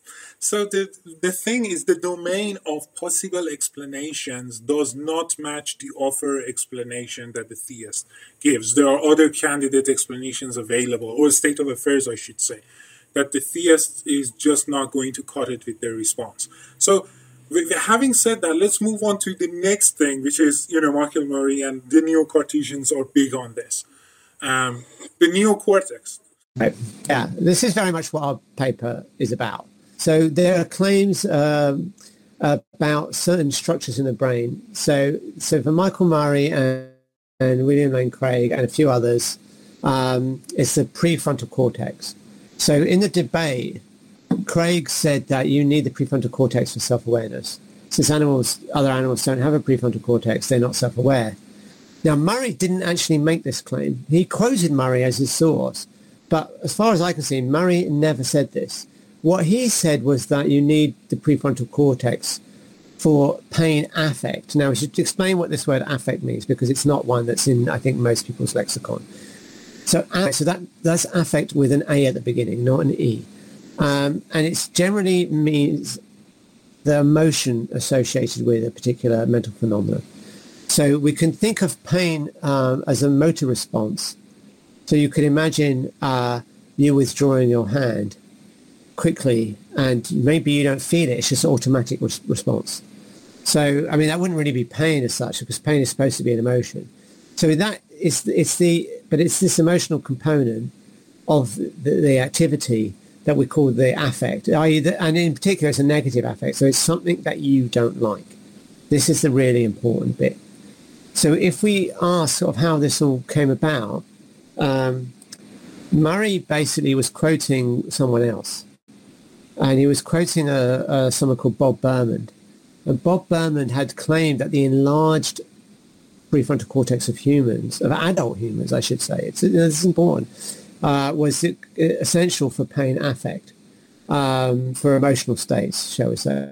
C: So the the thing is, the domain of possible explanations does not match the offer explanation that the theist gives. There are other candidate explanations available, or state of affairs, I should say, that the theist is just not going to cut it with their response. So, with, having said that, let's move on to the next thing, which is, you know, Michael Murray and the Neo-Cartesians are big on this. Um, the neocortex.
B: Right. Yeah, this is very much what our paper is about. So there are claims um, about certain structures in the brain. So, so for Michael Murray and, and William Lane Craig and a few others, um, it's the prefrontal cortex. So in the debate, Craig said that you need the prefrontal cortex for self-awareness. Since animals, other animals don't have a prefrontal cortex, they're not self-aware. Now, Murray didn't actually make this claim. He quoted Murray as his source. But as far as I can see, Murray never said this. What he said was that you need the prefrontal cortex for pain affect. Now, we should explain what this word affect means, because it's not one that's in, I think, most people's lexicon. So, so that, that's affect with an A at the beginning, not an E. Um, and it generally means the emotion associated with a particular mental phenomenon. So we can think of pain um, as a motor response. So you could imagine uh, you withdrawing your hand quickly, and maybe you don't feel it. It's just an automatic res- response. So, I mean, that wouldn't really be pain as such, because pain is supposed to be an emotion. So that it's it's the but it's this emotional component of the, the activity that we call the affect, that is, and in particular, it's a negative affect. So it's something that you don't like. This is the really important bit. So if we ask sort of how this all came about, um, Murray basically was quoting someone else. And he was quoting a, a, someone called Bob Berman. And Bob Berman had claimed that the enlarged prefrontal cortex of humans, of adult humans, I should say, it's, it's important, uh, was essential for pain affect, um, for emotional states, shall we say.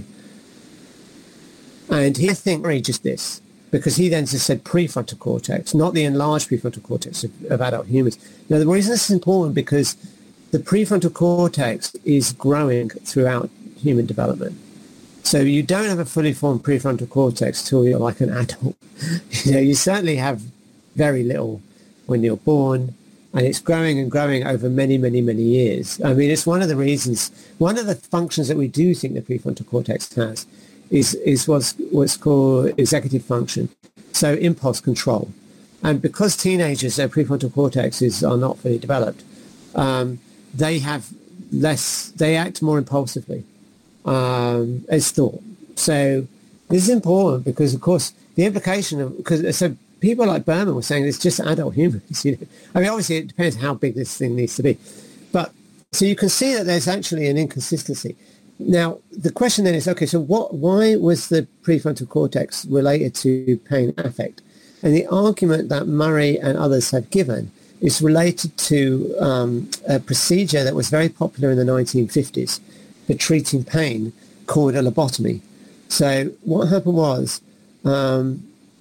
B: And he, I think, Murray just this, because he then just said prefrontal cortex, not the enlarged prefrontal cortex of, of adult humans. Now, the reason this is important because the prefrontal cortex is growing throughout human development. So you don't have a fully formed prefrontal cortex till you're like an adult. You know, you certainly have very little when you're born, and it's growing and growing over many, many, many years. I mean, it's one of the reasons, one of the functions that we do think the prefrontal cortex has is, is what's, what's called executive function, so impulse control. And because teenagers, their prefrontal cortexes are not fully developed, um, they have less, they act more impulsively um, as thought. So this is important because, of course, the implication of, because so people like Berman were saying it's just adult humans. You know? I mean, obviously it depends how big this thing needs to be. But so you can see that there's actually an inconsistency. Now, the question then is, okay, so what? Why was the prefrontal cortex related to pain affect? And the argument that Murray and others have given is related to um, a procedure that was very popular in the nineteen fifties for treating pain called a lobotomy. So what happened was um,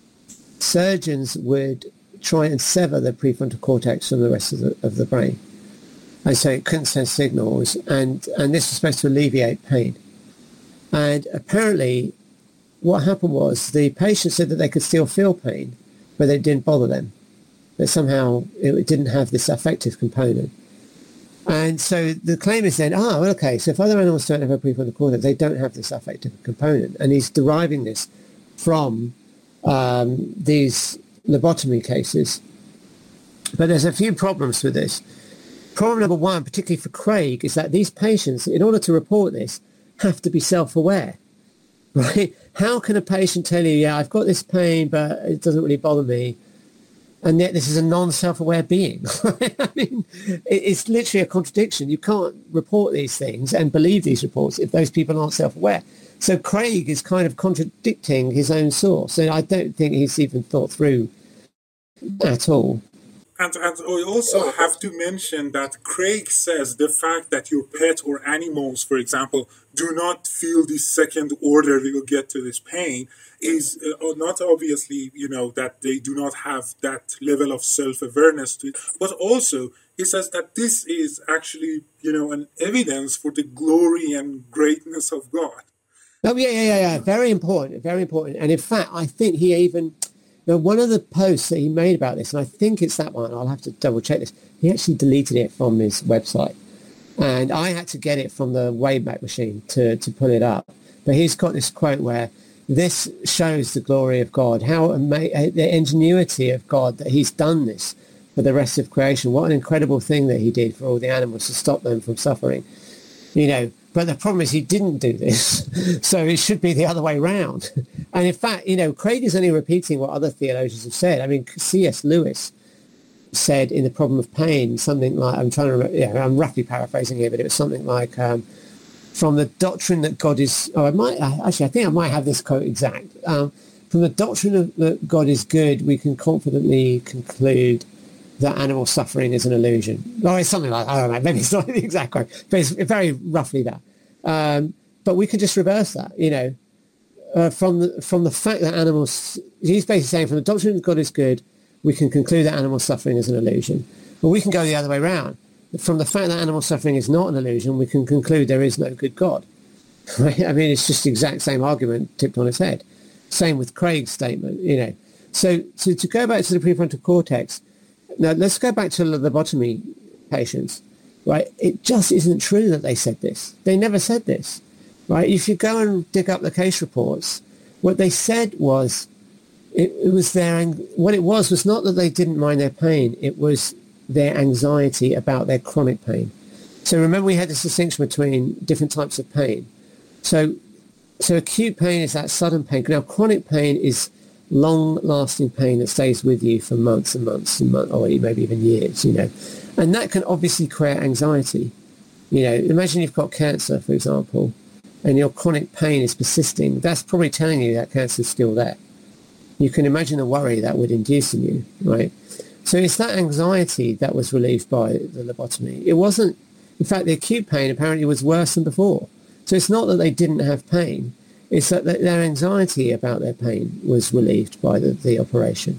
B: surgeons would try and sever the prefrontal cortex from the rest of the, of the brain. And so it couldn't send signals, and, and this was supposed to alleviate pain. And apparently what happened was the patient said that they could still feel pain, but it didn't bother them. That somehow it didn't have this affective component. And so the claim is then, oh, okay, so if other animals don't have a prefrontal cortex, they don't have this affective component. And he's deriving this from um, these lobotomy cases. But there's a few problems with this. Problem number one, particularly for Craig, is that these patients, in order to report this, have to be self-aware, right? How can a patient tell you, yeah, I've got this pain, but it doesn't really bother me, and yet this is a non-self-aware being? I mean, it's literally a contradiction. You can't report these things and believe these reports if those people aren't self-aware. So Craig is kind of contradicting his own source, and I don't think he's even thought through at all.
C: And, and we also have to mention that Craig says the fact that your pet or animals, for example, do not feel this second order you get to this pain is uh, not obviously, you know, that they do not have that level of self-awareness to it, but also he says that this is actually, you know, an evidence for the glory and greatness of God.
B: Oh, yeah, yeah, yeah, yeah. Very important, very important. And in fact, I think he even... Now, one of the posts that he made about this, and I think it's that one, I'll have to double check this, he actually deleted it from his website. And I had to get it from the Wayback Machine to, to pull it up. But he's got this quote where this shows the glory of God, how ama- the ingenuity of God that he's done this for the rest of creation. What an incredible thing that he did for all the animals to stop them from suffering. You know, but the problem is he didn't do this, so it should be the other way round. And in fact, you know, Craig is only repeating what other theologians have said. I mean, C S Lewis said in The Problem of Pain something like, I'm trying to remember, yeah, I'm roughly paraphrasing here, but it was something like, um, from the doctrine that God is, oh, I might, actually, I think I might have this quote exact. Um, from the doctrine of that God is good, we can confidently conclude that animal suffering is an illusion. Or it's something like, I don't know, maybe it's not the exact quote, but it's very roughly that. Um, but we can just reverse that, you know, uh, from the, from the fact that animals, he's basically saying from the doctrine that God is good, we can conclude that animal suffering is an illusion. But we can go the other way around. From the fact that animal suffering is not an illusion, we can conclude there is no good God. Right? I mean, it's just the exact same argument tipped on its head. Same with Craig's statement, you know. So, so to go back to the prefrontal cortex, now, let's go back to the lobotomy patients, right? It just isn't true that they said this. They never said this, right? If you go and dig up the case reports, what they said was, it, it was their, what it was was not that they didn't mind their pain. It was their anxiety about their chronic pain. So remember we had this distinction between different types of pain. So, so acute pain is that sudden pain. Now, chronic pain is long-lasting pain that stays with you for months and months and months, or maybe even years, you know. And that can obviously create anxiety. You know, imagine you've got cancer, for example, and your chronic pain is persisting. That's probably telling you that cancer is still there. You can imagine the worry that would induce in you, right? So it's that anxiety that was relieved by the lobotomy. It wasn't, in fact, the acute pain apparently was worse than before. So it's not that they didn't have pain. It's that their anxiety about their pain was relieved by the, the operation.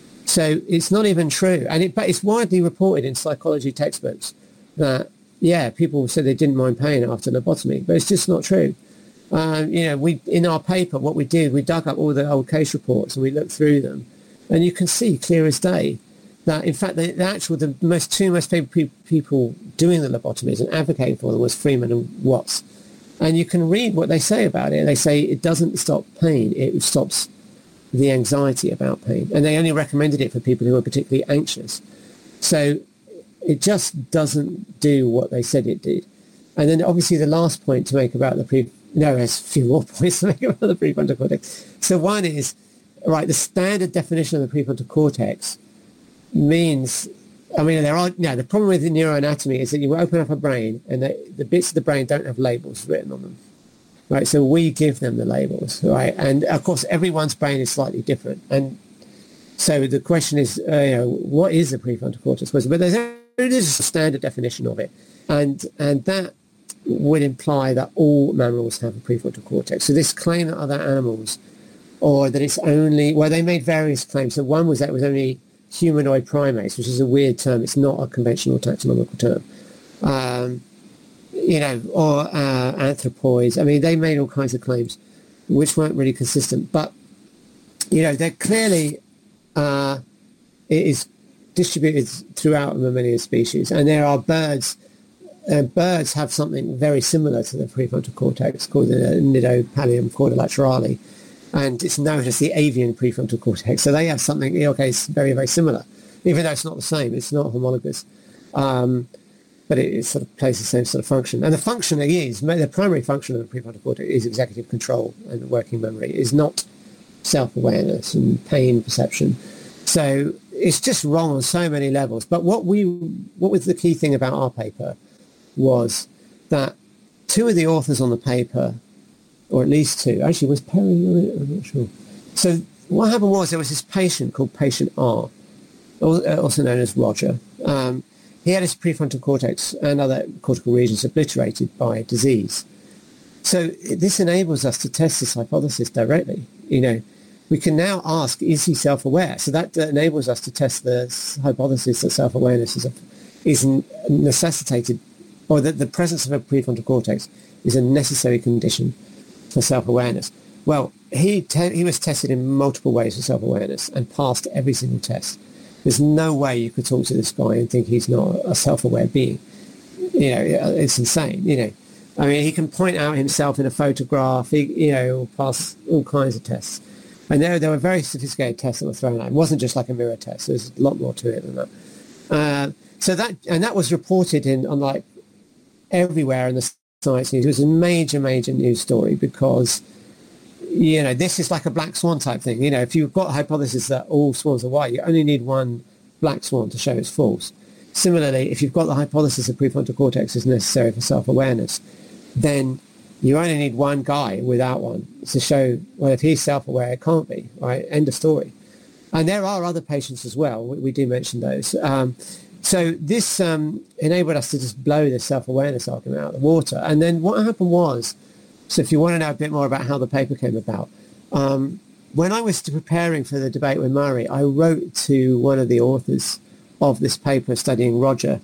B: So it's not even true. And it, but it's widely reported in psychology textbooks that, yeah, people said they didn't mind pain after lobotomy, but it's just not true. Um, you know, we in our paper, what we did, we dug up all the old case reports and we looked through them. And you can see clear as day that, in fact, the, the actual, the most two most favorite people doing the lobotomies and advocating for them was Freeman and Watts. And you can read what they say about it. They say it doesn't stop pain. It stops the anxiety about pain. And they only recommended it for people who are particularly anxious. So it just doesn't do what they said it did. And then obviously the last point to make about the pre... No, there's a few more points to make about the prefrontal cortex. So one is, right, the standard definition of the prefrontal cortex means... I mean, there are, no, the problem with the neuroanatomy is that you open up a brain and the, the bits of the brain don't have labels written on them, right? So we give them the labels, right? And of course, everyone's brain is slightly different. And So the question is, uh, you know, what is the prefrontal cortex? But there's a, there's a standard definition of it, and and that would imply that all mammals have a prefrontal cortex. So this claim that other animals, or that it's only, well, they made various claims. So one was that it was only humanoid primates, which is a weird term. It's not a conventional taxonomical term. Um, you know, or uh, anthropoids. I mean, they made all kinds of claims which weren't really consistent. But, you know, they're clearly, uh, it is distributed throughout a mammalian species. And there are birds, uh, birds have something very similar to the prefrontal cortex called the nidopallium quadrilaterale. And it's known as the avian prefrontal cortex. So they have something, okay, it's very, very similar, even though it's not the same. It's not homologous. Um, but it, it sort of plays the same sort of function. And the function is, the primary function of the prefrontal cortex is executive control and working memory. It is not self-awareness and pain perception. So it's just wrong on so many levels. But what we, what was the key thing about our paper was that two of the authors on the paper, or at least two, actually was Perry on it? I'm not sure. So what happened was there was this patient called patient R, also known as Roger. Um, he had his prefrontal cortex and other cortical regions obliterated by disease. So this enables us to test this hypothesis directly. You know, we can now ask, is he self-aware? So that enables us to test the hypothesis that self-awareness is, a, is necessitated, or that the presence of a prefrontal cortex is a necessary condition for self-awareness. Well, he te- he was tested in multiple ways for self-awareness and passed every single test. There's no way you could talk to this guy and think he's not a self-aware being. You know, it's insane, you know. I mean, he can point out himself in a photograph, he, you know, pass all kinds of tests. And there, there were very sophisticated tests that were thrown out. It wasn't just like a mirror test. There's a lot more to it than that. Uh, so that, and that was reported in, on like everywhere in the Science News. It was a major, major news story because, you know, this is like a black swan type thing. You know, if you've got a hypothesis that all swans are white, you only need one black swan to show it's false. Similarly, if you've got the hypothesis that prefrontal cortex is necessary for self-awareness, then you only need one guy without one to show, well, if he's self-aware, it can't be, right? End of story. And there are other patients as well. We, we do mention those. Um, so this um, enabled us to just blow the self-awareness argument out of the water. And then what happened was, so if you want to know a bit more about how the paper came about, um, when I was preparing for the debate with Murray, I wrote to one of the authors of this paper studying Roger,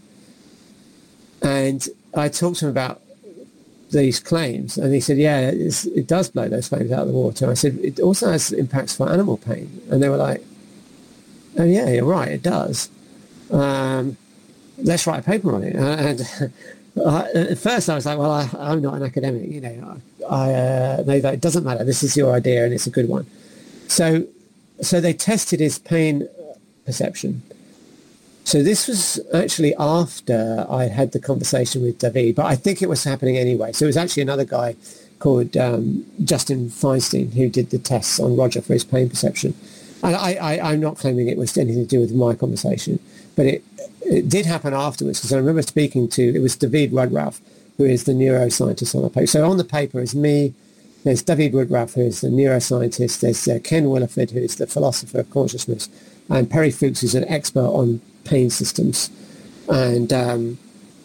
B: and I talked to him about these claims, and he said, yeah, it's, it does blow those claims out of the water. I said, it also has impacts for animal pain. And they were like, oh yeah, you're right, it does. Um, let's write a paper on it. And I, at first I was like, well, I, I'm not an academic, you know, I, uh, they, it doesn't matter, this is your idea and it's a good one. So, so they tested his pain perception. So this was actually after I had the conversation with David, but I think it was happening anyway. So it was actually another guy called um, Justin Feinstein who did the tests on Roger for his pain perception. And I, I, I'm not claiming it was anything to do with my conversation, but it, it did happen afterwards, because I remember speaking to, it was David Woodruff, who is the neuroscientist on the paper. So on the paper is me, there's David Woodruff, who is the neuroscientist, there's uh, Ken Williford, who is the philosopher of consciousness, and Perry Fuchs, who's an expert on pain systems. And um,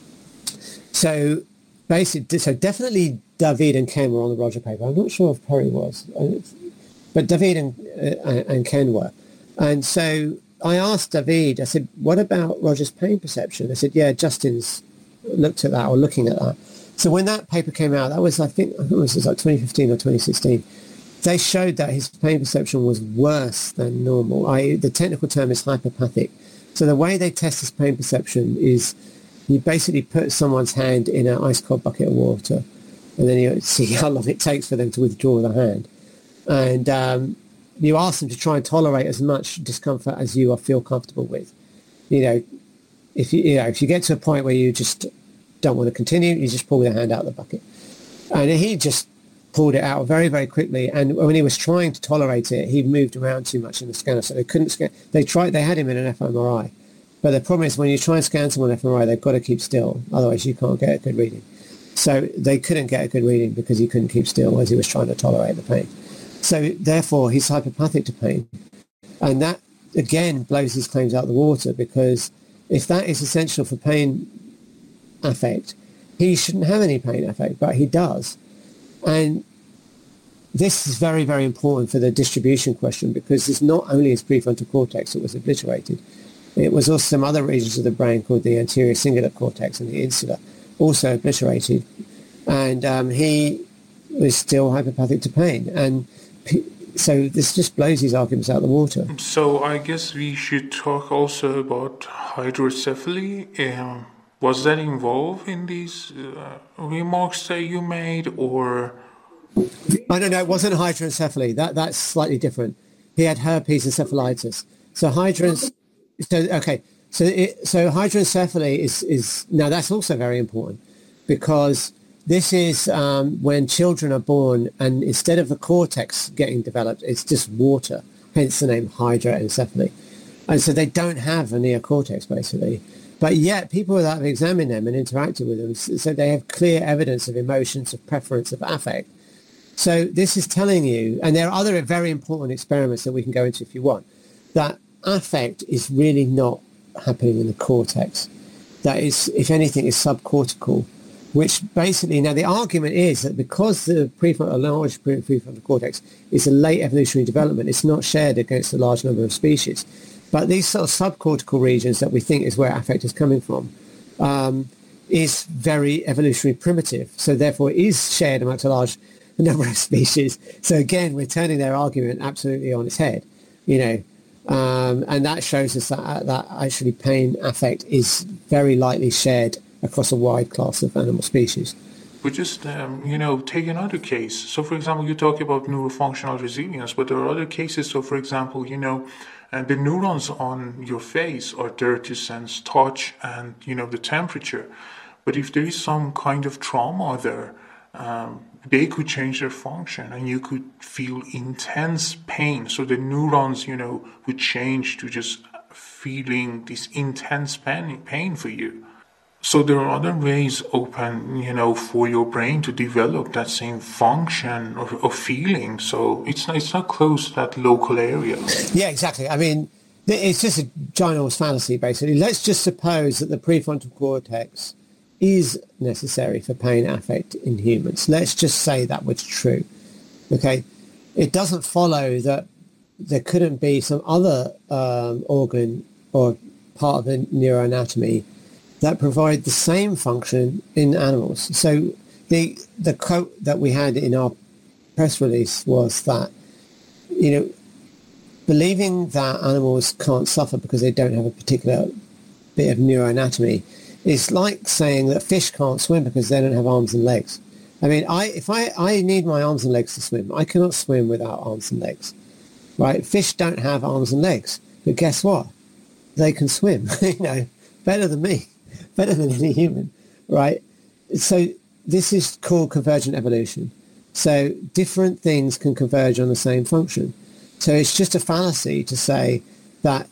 B: so basically, so definitely David and Ken were on the Roger paper. I'm not sure if Perry was, but David and, uh, and Ken were. And so I asked David, I said, what about Roger's pain perception? I said, yeah, Justin's looked at that, or looking at that. So when that paper came out, that was, I think, I think it was like twenty fifteen or twenty sixteen, they showed that his pain perception was worse than normal. I, the technical term is hyperpathic. So the way they test this pain perception is you basically put someone's hand in an ice cold bucket of water, and then you see how long it takes for them to withdraw the hand. And um, you ask them to try and tolerate as much discomfort as you feel comfortable with. You know, if you, you know, if you get to a point where you just don't want to continue, you just pull the hand out of the bucket. And he just pulled it out very, very quickly. And when he was trying to tolerate it, he moved around too much in the scanner, so they couldn't scan. They tried. They had him in an F M R I, but the problem is when you try and scan someone F M R I, they've got to keep still, otherwise you can't get a good reading. So they couldn't get a good reading because he couldn't keep still as he was trying to tolerate the pain. So therefore, he's hyperpathic to pain, and that again blows his claims out of the water, because if that is essential for pain affect, he shouldn't have any pain affect, but he does. And this is very, very important for the distribution question, because it's not only his prefrontal cortex that was obliterated, it was also some other regions of the brain called the anterior cingulate cortex and the insula, also obliterated. And um, he was still hypopathic to pain. And p- so this just blows his arguments out of the water.
A: So I guess we should talk also about hydrocephaly. Um, was that involved in these uh, remarks that you made, or?
B: I don't know. It wasn't hydrocephaly. That that's slightly different. He had herpes encephalitis. So hydros. So okay. So it, so hydrocephaly is is now that's also very important, because this is um, when children are born and instead of the cortex getting developed, it's just water, hence the name hydroencephaly. And so they don't have a neocortex, basically. But yet people that have examined them and interacted with them, so they have clear evidence of emotions, of preference, of affect. So this is telling you, and there are other very important experiments that we can go into if you want, that affect is really not happening in the cortex. That is, if anything, is subcortical. Which basically, now the argument is that because the prefrontal, large prefrontal cortex is a late evolutionary development, it's not shared against a large number of species. But these sort of subcortical regions that we think is where affect is coming from um, is very evolutionary primitive. So therefore it is shared amongst a large number of species. So again, we're turning their argument absolutely on its head, you know, um, and that shows us that, that actually pain affect is very likely shared across a wide class of animal species.
A: But just, um, you know, take another case. So, for example, you talk about neurofunctional resilience, but there are other cases. So, for example, you know, and the neurons on your face are there to sense touch and, you know, the temperature. But if there is some kind of trauma there, um, they could change their function and you could feel intense pain. So the neurons, you know, would change to just feeling this intense pain, pain for you. So there are other ways open, you know, for your brain to develop that same function or, or feeling. So it's not, it's not close to that local area.
B: Yeah, exactly. I mean, it's just a ginormous fallacy, basically. Let's just suppose that the prefrontal cortex is necessary for pain affect in humans. Let's just say that was true. Okay, it doesn't follow that there couldn't be some other um, organ or part of the neuroanatomy that provide the same function in animals. So the the quote that we had in our press release was that, you know, believing that animals can't suffer because they don't have a particular bit of neuroanatomy is like saying that fish can't swim because they don't have arms and legs. I mean, I if I, I need my arms and legs to swim. I cannot swim without arms and legs, right? Fish don't have arms and legs, but guess what? They can swim, you know, better than me. Better than any human, right? So this is called convergent evolution. So different things can converge on the same function. So it's just a fallacy to say that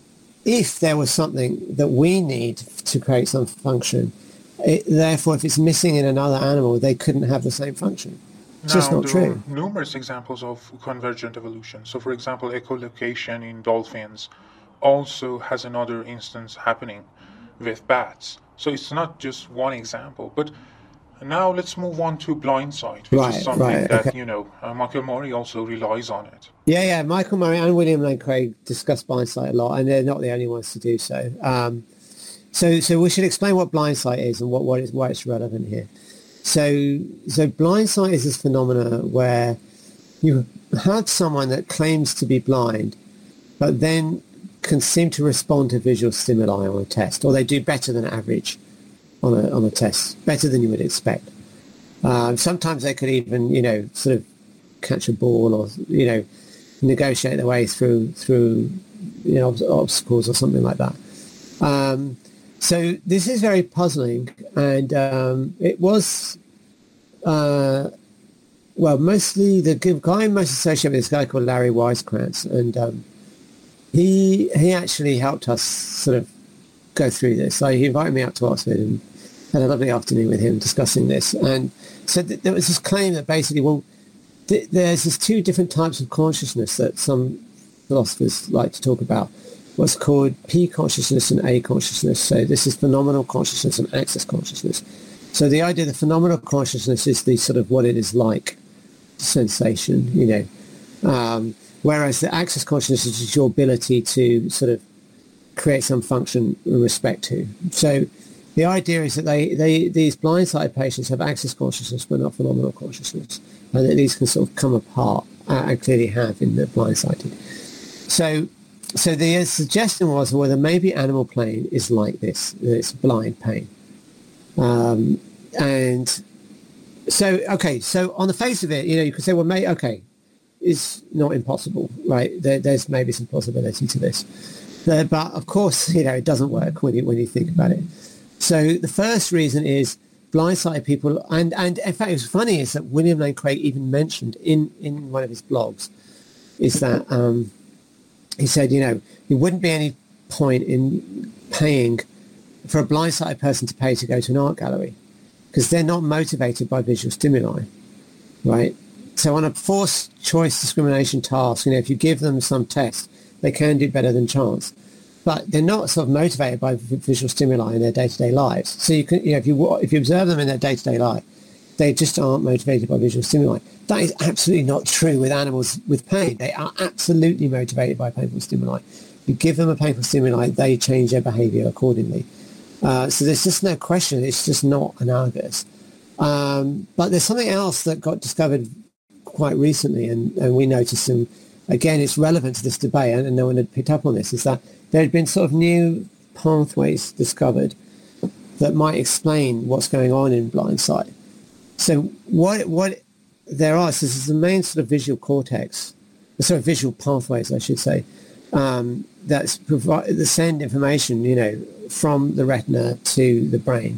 B: if there was something that we need to create some function, it, therefore if it's missing in another animal, they couldn't have the same function. It's
A: now,
B: just not
A: there
B: true.
A: Are numerous examples of convergent evolution. So for example, echolocation in dolphins also has another instance happening with bats. So it's not just one example. But now let's move on to blindsight, which
B: right,
A: is something
B: right,
A: that,
B: okay.
A: you know, uh, Michael Murray also relies on it.
B: Yeah, yeah. Michael Murray and William Lane Craig discuss blindsight a lot, and they're not the only ones to do so. Um, so so we should explain what blindsight is and what, what is, why it's relevant here. So, so blindsight is this phenomena where you have someone that claims to be blind, but then can seem to respond to visual stimuli on a test, or they do better than average on a on a test, better than you would expect. Um, sometimes they could even, you know, sort of catch a ball, or you know, negotiate their way through through you know obstacles or something like that. Um, so this is very puzzling, and um, it was uh, well mostly the guy most associated with this guy called Larry Weisskranz, and um, He he actually helped us sort of go through this. So he invited me out to Oxford and had a lovely afternoon with him discussing this. And so th- there was this claim that basically, well, th- there's these two different types of consciousness that some philosophers like to talk about what's called P consciousness and A consciousness. So this is phenomenal consciousness and access consciousness. So the idea that phenomenal consciousness is the sort of what it is like sensation, you know, um, whereas the access consciousness is your ability to sort of create some function in respect to. So the idea is that they, they these blindsided patients have access consciousness but not phenomenal consciousness, and that these can sort of come apart, uh, and clearly have in the blindsided. So so the suggestion was, well, that maybe animal plane is like this, it's blind pain. Um, and so, okay, so on the face of it, you know, you could say, well, may, okay, it's not impossible, right? There, there's maybe some possibility to this. Uh, but of course, you know, it doesn't work when you, when you think about it. So the first reason is blindsided people, and, and in fact, what's funny is that William Lane Craig even mentioned in, in one of his blogs is that um, he said, you know, there wouldn't be any point in paying for a blindsided person to pay to go to an art gallery because they're not motivated by visual stimuli, right? So on a forced choice discrimination task, you know, if you give them some test, they can do better than chance. But they're not sort of motivated by visual stimuli in their day-to-day lives. So you can, you know, if you if you observe them in their day-to-day life, they just aren't motivated by visual stimuli. That is absolutely not true with animals with pain. They are absolutely motivated by painful stimuli. You give them a painful stimuli, they change their behaviour accordingly. Uh, so there's just no question. It's just not analogous. Um, but there's something else that got discovered quite recently, and, and we noticed some, again, it's relevant to this debate, and, and no one had picked up on this, is that there had been sort of new pathways discovered that might explain what's going on in blind sight. So what what there are, so this is the main sort of visual cortex, sorry, visual pathways, I should say, um, that's provide, that send information, you know, from the retina to the brain.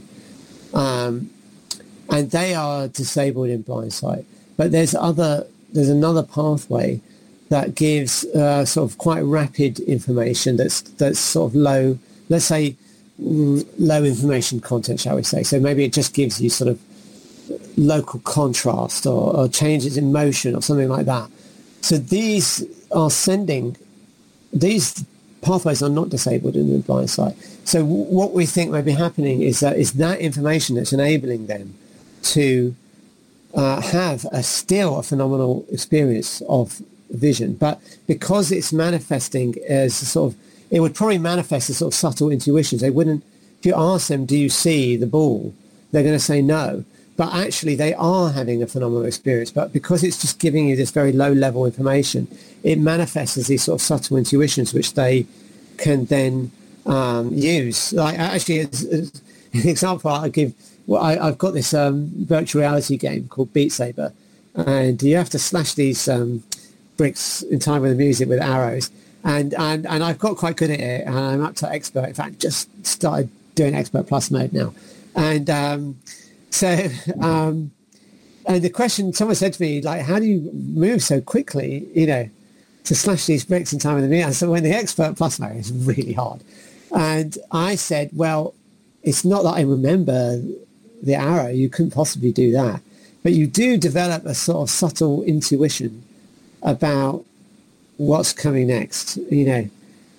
B: Um, and they are disabled in blind sight. But there's other, there's another pathway that gives uh, sort of quite rapid information that's that's sort of low, let's say mm, low information content, shall we say. So maybe it just gives you sort of local contrast or, or changes in motion or something like that. So these are sending, these pathways are not disabled in the blind sight. So w- what we think may be happening is that is that information that's enabling them to uh, have a still a phenomenal experience of vision, but because it's manifesting as a sort of, it would probably manifest as sort of subtle intuitions. They wouldn't, if you ask them, do you see the ball? They're going to say no. But actually they are having a phenomenal experience. But because it's just giving you this very low level information, it manifests as these sort of subtle intuitions, which they can then um, use. Like actually, as, as an example, I give, well, I, I've got this um, virtual reality game called Beat Saber, and you have to slash these um, bricks in time with the music with arrows. And, and, and I've got quite good at it, and I'm up to expert. In fact, just started doing expert plus mode now. And um, so, um, and the question, someone said to me, like, how do you move so quickly, you know, to slash these bricks in time with the music? I said, when the expert plus mode is really hard. And I said, well, it's not that I remember the arrow. You couldn't possibly do that. But you do develop a sort of subtle intuition about what's coming next, you know.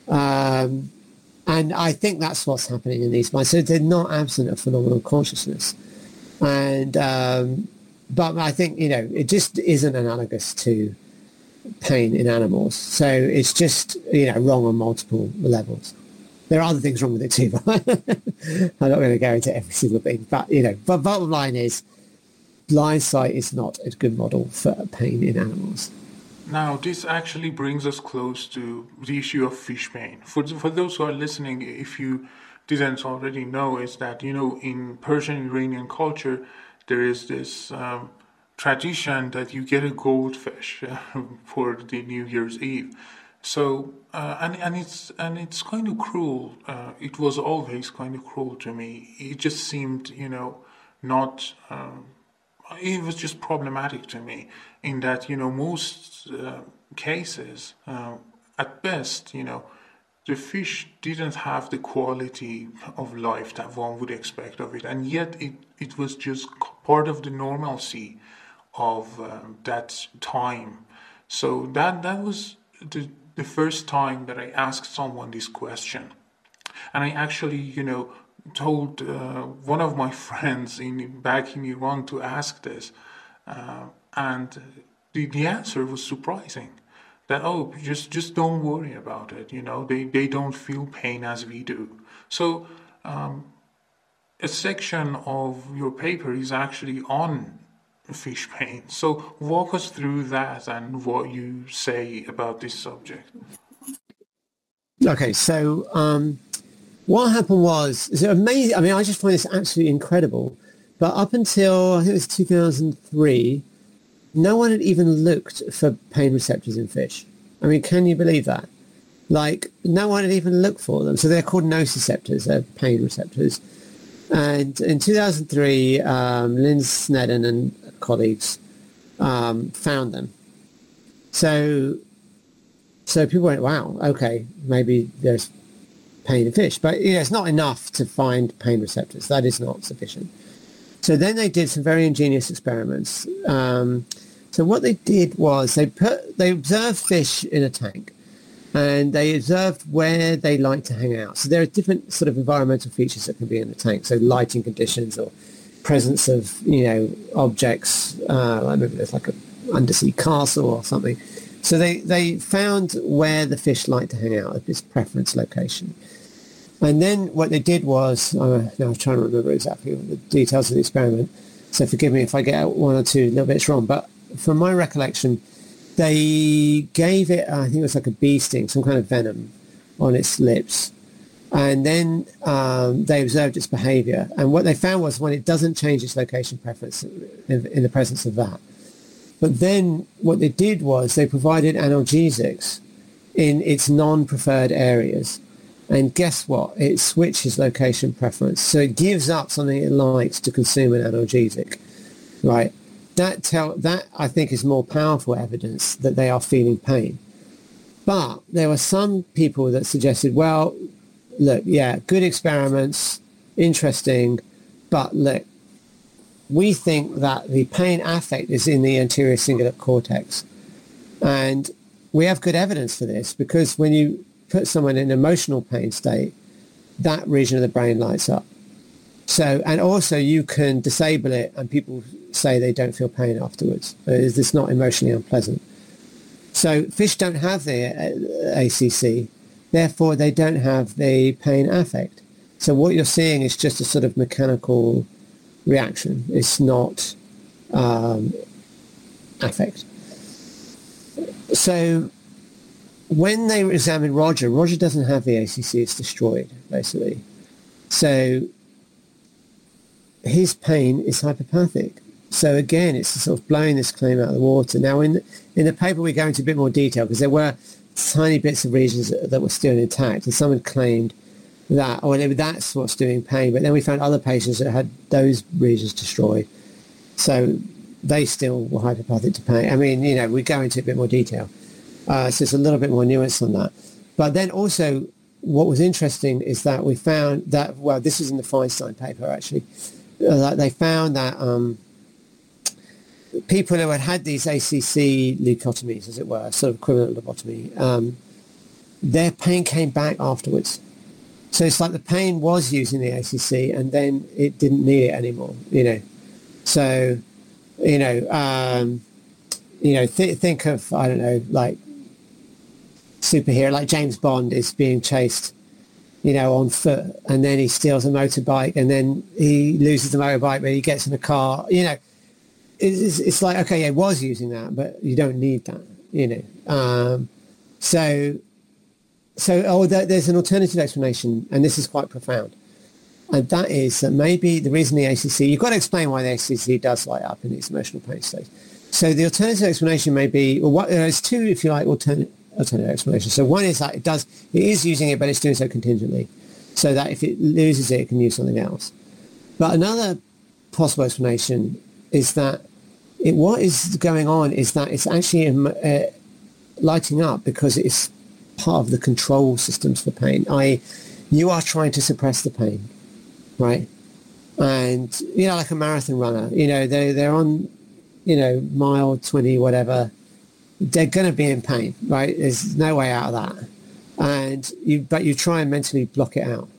B: Um, and I think that's what's happening in these minds. So they're not absent of phenomenal consciousness. And, um, but I think, you know, it just isn't analogous to pain in animals. So it's just, you know, wrong on multiple levels. There are other things wrong with it too, but I'm not going to go into every single thing. But, you know, but bottom line is blind sight is not a good model for pain in animals.
A: Now, this actually brings us close to the issue of fish pain. For, for those who are listening, if you didn't already know, is that, you know, in Persian Iranian culture, there is this um, tradition that you get a goldfish uh, for the New Year's Eve. So, uh, and, and it's and it's kind of cruel. Uh, it was always kind of cruel to me. It just seemed, you know, not... Um, it was just problematic to me in that, you know, most uh, cases, uh, at best, you know, the fish didn't have the quality of life that one would expect of it. And yet it, it was just part of the normalcy of um, that time. So that that was the the first time that I asked someone this question. And I actually, you know, told uh, one of my friends in back in Iran to ask this. Uh, and the, the answer was surprising. That, oh, just just don't worry about it, you know, they, they don't feel pain as we do. So um, a section of your paper is actually on fish pain. So walk us through that and what you say about this subject.
B: Okay, so um, what happened was, is it amazing? I mean, I just find this absolutely incredible. But up until, I think it was two thousand three, no one had even looked for pain receptors in fish. I mean, can you believe that? Like, no one had even looked for them. So they're called nociceptors, they're pain receptors. And in two thousand three, um, Lynn Snedden and colleagues um, found them. So, so people went, wow, okay, maybe there's pain in fish. But, you know, it's not enough to find pain receptors. That is not sufficient. So then they did some very ingenious experiments. Um, so what they did was they put they observed fish in a tank, and they observed where they like to hang out. So there are different sort of environmental features that can be in the tank. So lighting conditions or presence of, you know, objects. Uh, like maybe there's like an undersea castle or something. So they, they found where the fish like to hang out at this preference location. And then what they did was, uh, now I'm trying to remember exactly the details of the experiment, so forgive me if I get one or two little bits wrong, but from my recollection, they gave it, I think it was like a bee sting, some kind of venom on its lips, and then um, they observed its behavior. And what they found was when it doesn't change its location preference in, in the presence of that. But then what they did was they provided analgesics in its non-preferred areas. And guess what? It switches location preference. So it gives up something it likes to consume an analgesic, right? That tell that I think is more powerful evidence that they are feeling pain. But there were some people that suggested, well, look, yeah, good experiments, interesting, but look, we think that the pain affect is in the anterior cingulate cortex. And we have good evidence for this because when you put someone in an emotional pain state, that region of the brain lights up. So, and also you can disable it and people say they don't feel pain afterwards. It's not emotionally unpleasant. So fish don't have the A C C, therefore they don't have the pain affect. So what you're seeing is just a sort of mechanical reaction. It's not um, affect. So when they examined Roger, Roger doesn't have the A C C, it's destroyed, basically. So his pain is hypopathic. So again, it's sort of blowing this claim out of the water. Now, in, in the paper, we go into a bit more detail because there were tiny bits of regions that, that were still intact, and someone claimed that, or that's what's doing pain. But then we found other patients that had those regions destroyed. So they still were hypopathic to pain. I mean, you know, we go into a bit more detail. Uh, so it's a little bit more nuance on that. But then also what was interesting is that we found that, well, this is in the Feinstein paper actually, uh, that they found that um, people who had had these A C C leucotomies, as it were, sort of equivalent lobotomy, um, their pain came back afterwards. So it's like the pain was using the A C C and then it didn't need it anymore, you know. So, you know, um, you know, th- think of, I don't know, like, superhero like James Bond is being chased, you know, on foot, and then he steals a motorbike, and then he loses the motorbike, but he gets in a car. You know, it's, it's like, okay, yeah, it was using that, but you don't need that. You know, um, so so oh, there's an alternative explanation, and this is quite profound, and that is that maybe the reason the A C C, you've got to explain why the A C C does light up in these emotional pain states. So the alternative explanation may be, well, what, there's two, if you like, alternate. alternative explanation. So one is that it does, it is using it, but it's doing so contingently, so that if it loses it, it can use something else. But another possible explanation is that it, what is going on is that it's actually uh, lighting up because it's part of the control systems for pain. that is, you are trying to suppress the pain, right? And, you know, like a marathon runner, you know, they they're on, you know, mile twenty, whatever, they're going to be in pain, right? There's no way out of that. And you, but you try and mentally block it out.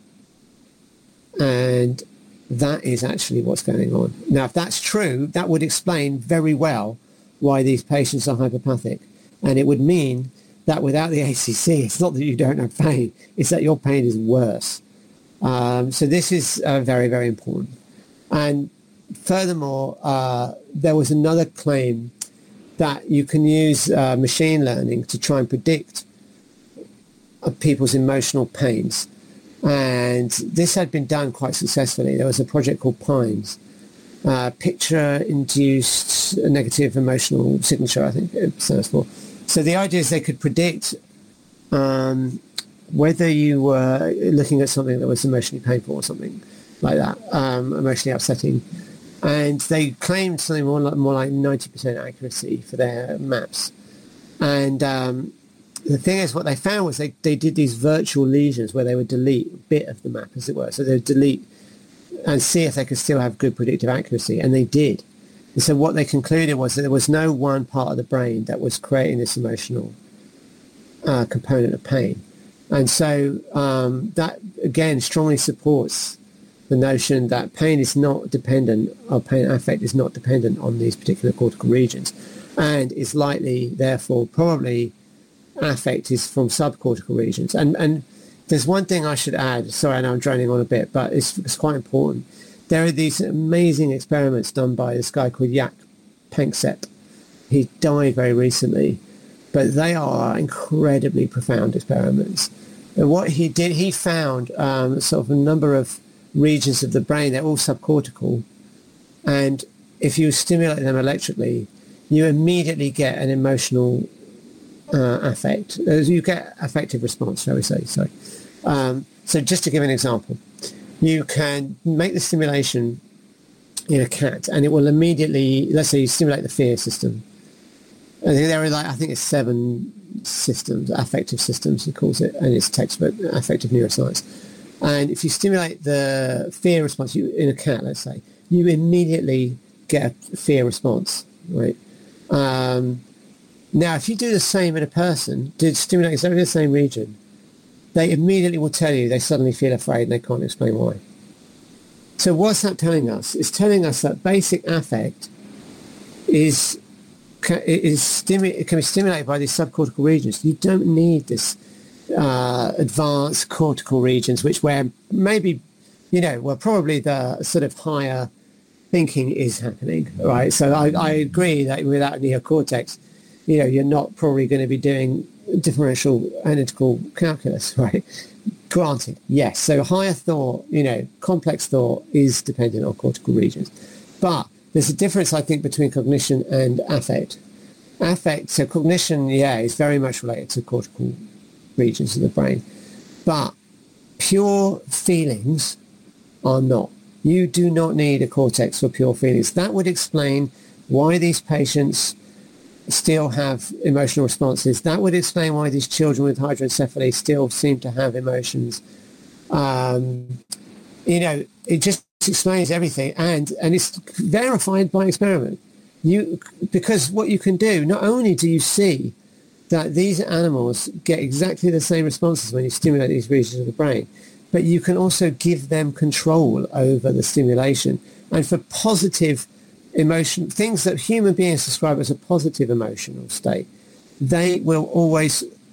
B: And that is actually what's going on. Now, if that's true, that would explain very well why these patients are hypopathic. And it would mean that without the A C C, it's not that you don't have pain, it's that your pain is worse. Um, so this is uh, very, very important. And furthermore, uh, there was another claim that you can use uh, machine learning to try and predict uh, people's emotional pains. And this had been done quite successfully. There was a project called PINES, uh, Picture-Induced Negative Emotional Signature, I think it stands for. So the idea is they could predict um, whether you were looking at something that was emotionally painful or something like that, um, emotionally upsetting. And they claimed something more like, more like ninety percent accuracy for their maps. And um, the thing is, what they found was they, they did these virtual lesions where they would delete a bit of the map, as it were. So they would delete and see if they could still have good predictive accuracy. And they did. And so what they concluded was that there was no one part of the brain that was creating this emotional uh, component of pain. And so um, that, again, strongly supports the notion that pain is not dependent, or pain affect is not dependent on these particular cortical regions, and is likely, therefore, probably affect is from subcortical regions. And and there's one thing I should add. Sorry, I know I'm droning on a bit, but it's, it's quite important. There are these amazing experiments done by this guy called Jaak Panksepp. He died very recently, but they are incredibly profound experiments. And what he did, he found um, sort of a number of regions of the brain, they're all subcortical, and if you stimulate them electrically, you immediately get an emotional uh, affect. You get affective response, shall we say. Sorry. Um, so just to give an example, you can make the stimulation in a cat, and it will immediately, let's say you stimulate the fear system. And there are like, I think it's seven systems, affective systems, he calls it, and it's textbook, affective neuroscience. And if you stimulate the fear response you, in a cat, let's say, you immediately get a fear response, right? Um, now, if you do the same in a person, do stimulate exactly the same region, they immediately will tell you they suddenly feel afraid and they can't explain why. So what's that telling us? It's telling us that basic affect is, is stimu- it can be stimulated by these subcortical regions. You don't need this Uh, advanced cortical regions, which where maybe, you know, well, probably the sort of higher thinking is happening, right? So I, I agree that without neocortex, you know, you're not probably going to be doing differential analytical calculus, right? Granted, yes. So higher thought, you know, complex thought is dependent on cortical regions. But there's a difference, I think, between cognition and affect. Affect, so cognition, yeah, is very much related to cortical regions of the brain, but pure feelings are not. You do not need a cortex for pure feelings. That would explain why these patients still have emotional responses. That would explain why these children with hydrocephaly still seem to have emotions. Um, you know, it just explains everything, and and it's verified by experiment. You because what you can do, not only do you see that these animals get exactly the same responses when you stimulate these regions of the brain, but you can also give them control over the stimulation. And for positive emotion, things that human beings describe as a positive emotional state, they will always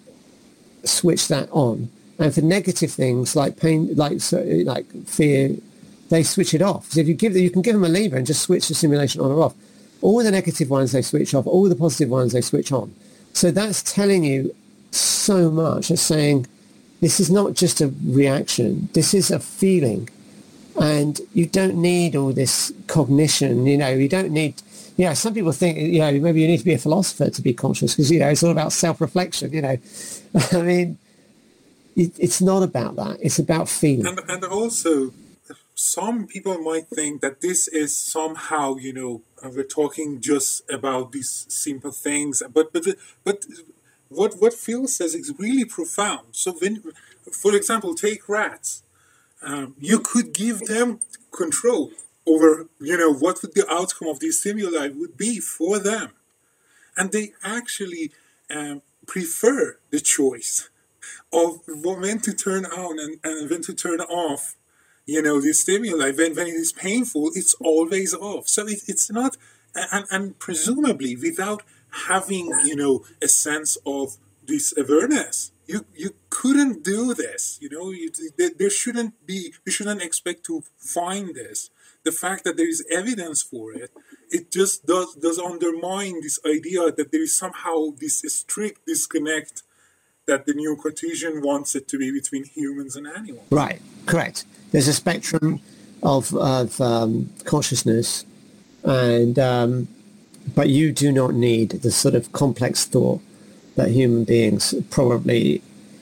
B: switch that on. And for negative things like pain, like like fear, they switch it off. So if you give them, you can give them a lever and just switch the stimulation on or off. All the negative ones they switch off, all the positive ones they switch on. So that's telling you so much. It's saying this is not just a reaction. This is a feeling. And you don't need all this cognition. You know, you don't need, you know, some people think, you know, maybe you need to be a philosopher to be conscious because, you know, it's all about self-reflection, you know. I mean, it, it's not about that. It's about feeling.
C: And, and also, some people might think that this is somehow, you know, we're talking just about these simple things, but but but what what Phil says is really profound. So when, for example, take rats, um, you could give them control over, you know, what would the outcome of these stimuli would be for them, and they actually um, prefer the choice of when to turn on and, and when to turn off, you know, the stimuli. When, when it is painful, it's always off. So it, it's not, and, and presumably without having, you know, a sense of this awareness, you you couldn't do this. You know, you, there, there shouldn't be, you shouldn't expect to find this. The fact that there is evidence for it, it just does does undermine this idea that there is somehow this strict disconnect that the new Cartesian wants it to be between humans and animals.
B: Right, correct. There's a spectrum of, of um, consciousness, and um, but you do not need the sort of complex thought that human beings probably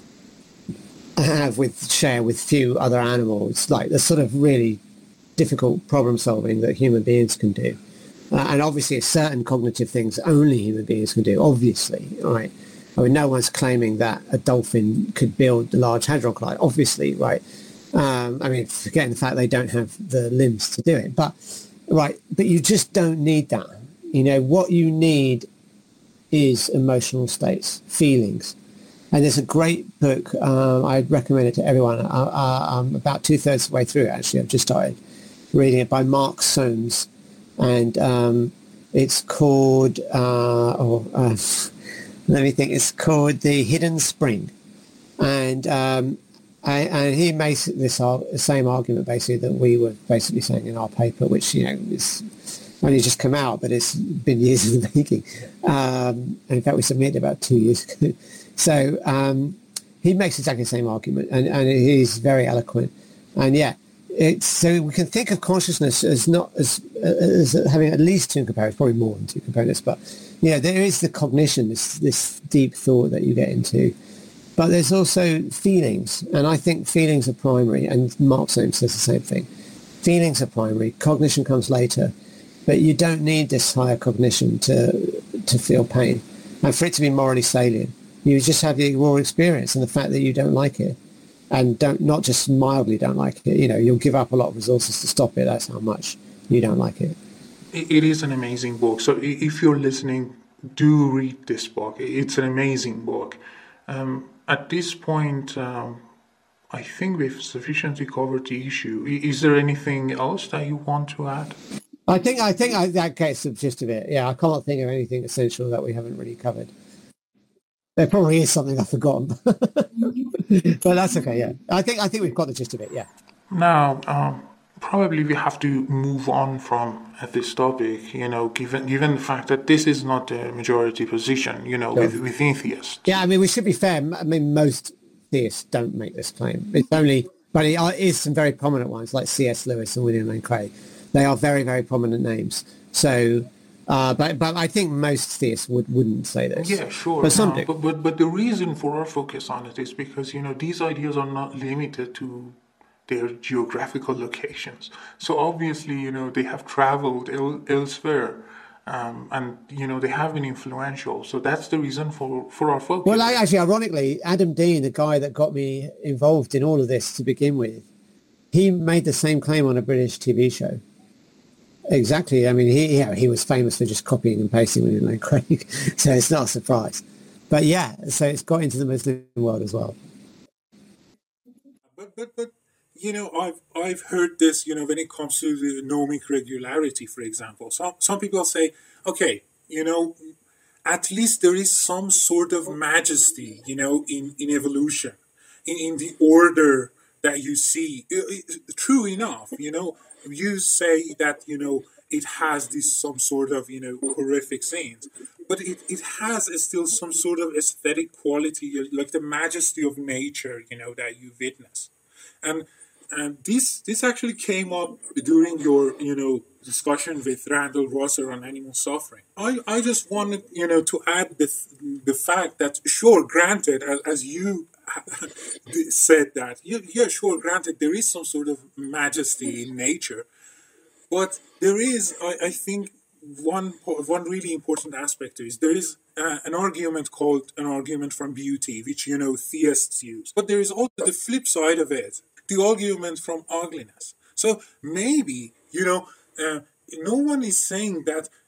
B: have with share with few other animals, like the sort of really difficult problem solving that human beings can do. Uh, and obviously certain cognitive things only human beings can do, obviously, right? I mean, no one's claiming that a dolphin could build the Large Hadron Collider, obviously, right? Um, I mean, forgetting the fact they don't have the limbs to do it, but, right, but you just don't need that. You know, what you need is emotional states, feelings. And there's a great book, um, I'd recommend it to everyone. Uh, uh, I'm about two-thirds of the way through it, actually. I've just started reading it, by Mark Soames. And um, it's called, uh, oh, uh, let me think, it's called The Hidden Spring. And um, I, and he makes this ar- same argument, basically, that we were basically saying in our paper, which, you know, is only just come out, but it's been years in the making. Um, and in fact, we submitted about two years ago. So um, he makes exactly the same argument, and, and he's very eloquent. And yeah, it's, so we can think of consciousness as not as, as having at least two components, probably more than two components. But you know, there is the cognition, this this deep thought that you get into. But there's also feelings, and I think feelings are primary. And Mark Soames says the same thing. Feelings are primary. Cognition comes later, but you don't need this higher cognition to to feel pain, and for it to be morally salient. You just have the raw experience and the fact that you don't like it, and don't not just mildly don't like it. You know, you'll give up a lot of resources to stop it. That's how much you don't like it.
A: It is an amazing book. So if you're listening, do read this book. It's an amazing book. Um, at this point, um, I think we've sufficiently covered the issue. Is there anything else that you want to add?
B: I think I think I, that gets the gist of it. Yeah, I can't think of anything essential that we haven't really covered. There probably is something I've forgotten, but that's okay. Yeah, I think I think we've got the gist of it. Yeah.
A: Now, um, probably we have to move on from uh, this topic. You know, given given the fact that this is not the majority position. You know,
B: Sure.
A: with with atheists.
B: Yeah, I mean, we should be fair. I mean, most theists don't make this claim. It's only, but it is some very prominent ones like C S Lewis and William Lane Craig. They are very, very prominent names. So, uh, but but I think most theists would, wouldn't say this.
A: Yeah, sure.
B: But some
A: no,
B: do.
A: But, but but the reason for our focus on it is because, you know, these ideas are not limited to their geographical locations. So obviously, you know, they have traveled el- elsewhere. Um, and, you know, they have been influential. So that's the reason for, for our focus.
B: Well, I, actually, ironically, Adam Dean, the guy that got me involved in all of this to begin with, he made the same claim on a British T V show. Exactly. I mean, he yeah, he was famous for just copying and pasting William Lane Craig, so it's not a surprise. But yeah, so it's got into the Muslim world as well.
C: But but but you know, I've I've heard this. You know, when it comes to the nomic regularity, for example, some some people say, okay, you know, at least there is some sort of majesty, you know, in in evolution, in in the order that you see. It- it- true enough, you know, you say that, you know, it has this some sort of, you know, horrific scenes, but it, it has still some sort of aesthetic quality, like the majesty of nature, you know, that you witness. And and this this actually came up during your, you know, discussion with Randall Rosser on animal suffering. I, I just wanted, you know, to add the the fact that, sure, granted, as, as you said that, yeah, yeah, sure, granted, there is some sort of majesty in nature, but there is, I, I think, one one really important aspect is there is uh, an argument called an argument from beauty, which, you know, theists use. But there is also the flip side of it, the argument from ugliness. So maybe, you know, uh, no one is saying that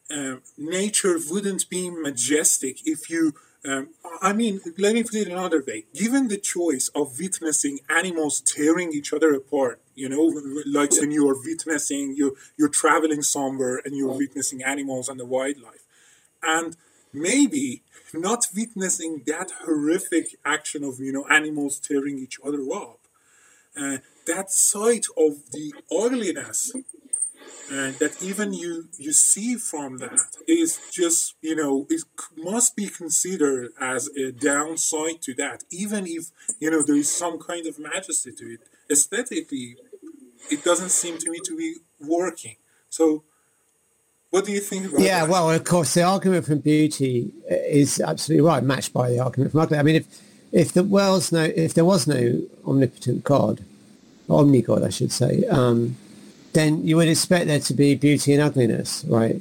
C: uh, nature wouldn't be majestic if you, um, I mean, let me put it another way. Given the choice of witnessing animals tearing each other apart, you know, like when you are witnessing, you, you're traveling somewhere and you're witnessing animals and the wildlife, and maybe not witnessing that horrific action of, you know, animals tearing each other up, uh, that sight of the ugliness uh, that even you you see from that is just, you know, it must be considered as a downside to that, even if, you know, there is some kind of majesty to it. Aesthetically, it doesn't seem to me to be working. So what do you think about
B: yeah,
C: that?
B: well, of course, the argument from beauty is absolutely right, matched by the argument from ugly. I mean, if if the world's no, if there was no omnipotent God, omni-God, I should say, um, then you would expect there to be beauty and ugliness, right?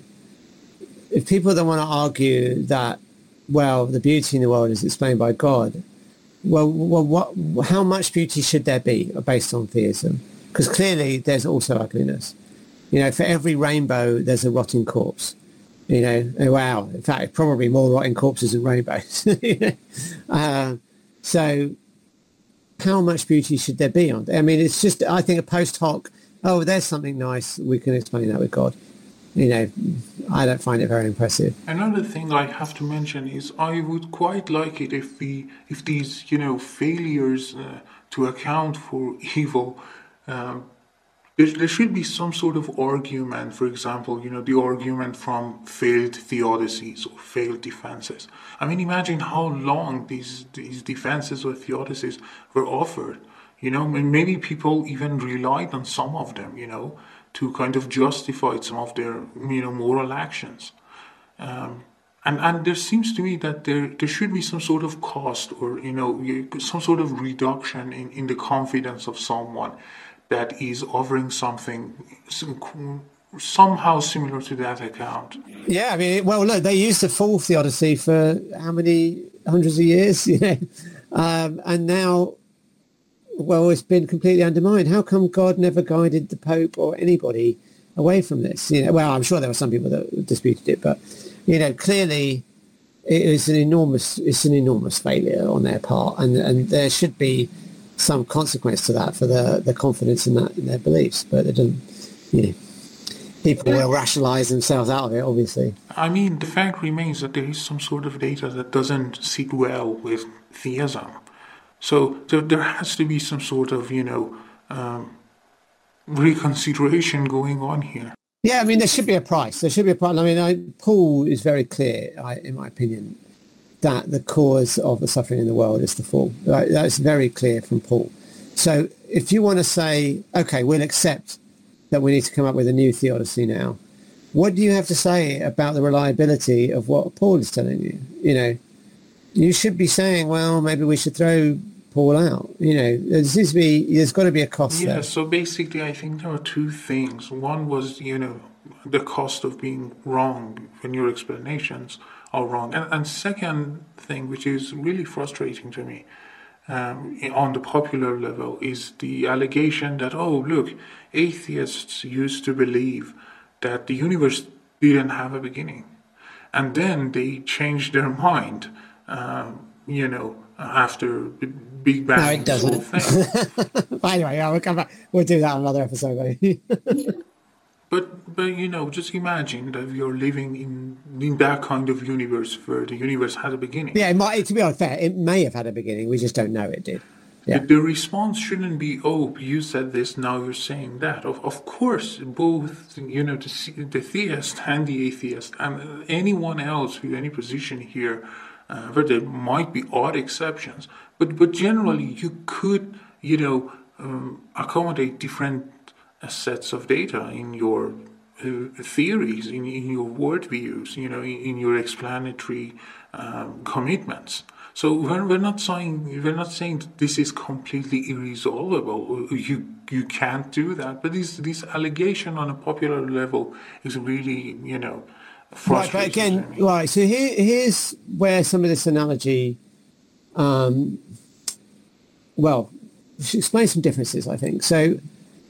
B: If people don't want to argue that, well, the beauty in the world is explained by God, well, well, what, how much beauty should there be based on theism? Because clearly there's also ugliness. You know, for every rainbow, there's a rotting corpse. You know, oh, wow. In fact, probably more rotting corpses than rainbows. uh, so how much beauty should there be on? I mean, it's just, I think a post hoc, oh, there's something nice, we can explain that with God. You know, I don't find it very impressive.
A: Another thing I have to mention is I would quite like it if the if these, you know, failures uh, to account for evil, um, there, there should be some sort of argument. For example, you know, the argument from failed theodicies or failed defenses. I mean, imagine how long these these defenses or theodicies were offered. You know, maybe people even relied on some of them, you know, to kind of justify some of their, you know, moral actions. Um, and, and there seems to me that there, there should be some sort of cost or, you know, some sort of reduction in, in the confidence of someone that is offering something somehow similar to that account.
B: Yeah, I mean, well, look, they used the full theodicy for how many hundreds of years, you know, um, and now, well, it's been completely undermined. How come God never guided the Pope or anybody away from this? You know, well, I'm sure there were some people that disputed it, but you know, clearly it is an enormous, it's an enormous failure on their part, and and there should be some consequence to that for the the confidence in that in their beliefs. But it doesn't, you know, people will rationalise themselves out of it, obviously.
A: I mean, the fact remains that there is some sort of data that doesn't sit well with theism. So there, there has to be some sort of, you know, um, reconsideration going on here.
B: Yeah, I mean, there should be a price. There should be a price. I mean, I, Paul is very clear, I, in my opinion, that the cause of the suffering in the world is the fall. Right? That's very clear from Paul. So if you want to say, okay, we'll accept that we need to come up with a new theodicy now, what do you have to say about the reliability of what Paul is telling you? You know, you should be saying, well, maybe we should throw Paul out. You know, there seems to be, there's got to be a cost
A: yeah,
B: there.
A: Yeah, so basically I think there are two things. One was, you know, the cost of being wrong when your explanations are wrong. And, and second thing, which is really frustrating to me um, on the popular level, is the allegation that, oh, look, atheists used to believe that the universe didn't have a beginning. And then they changed their mind. Um, you know, after the Big Bang.
B: No, it doesn't. Thing. Anyway, yeah, we'll come back. We'll do that on another episode.
A: but, but you know, just imagine that you're living in in that kind of universe where the universe had a beginning.
B: Yeah, it might. To be unfair, it may have had a beginning. We just don't know it did. Yeah.
A: The, the response shouldn't be, oh, you said this, now you're saying that. Of of course, both, you know, the, the theist and the atheist and anyone else with any position here. Uh, where there might be odd exceptions, but but generally you could, you know, um, accommodate different uh, sets of data in your uh, theories, in, in your worldviews, you know, in, in your explanatory um, commitments. So we're, we're not saying we're not saying that this is completely irresolvable. You you can't do that. But this this allegation on a popular level is really, you know.
B: Right, but again, right, so here, here's where some of this analogy, um, well, explain some differences, I think. So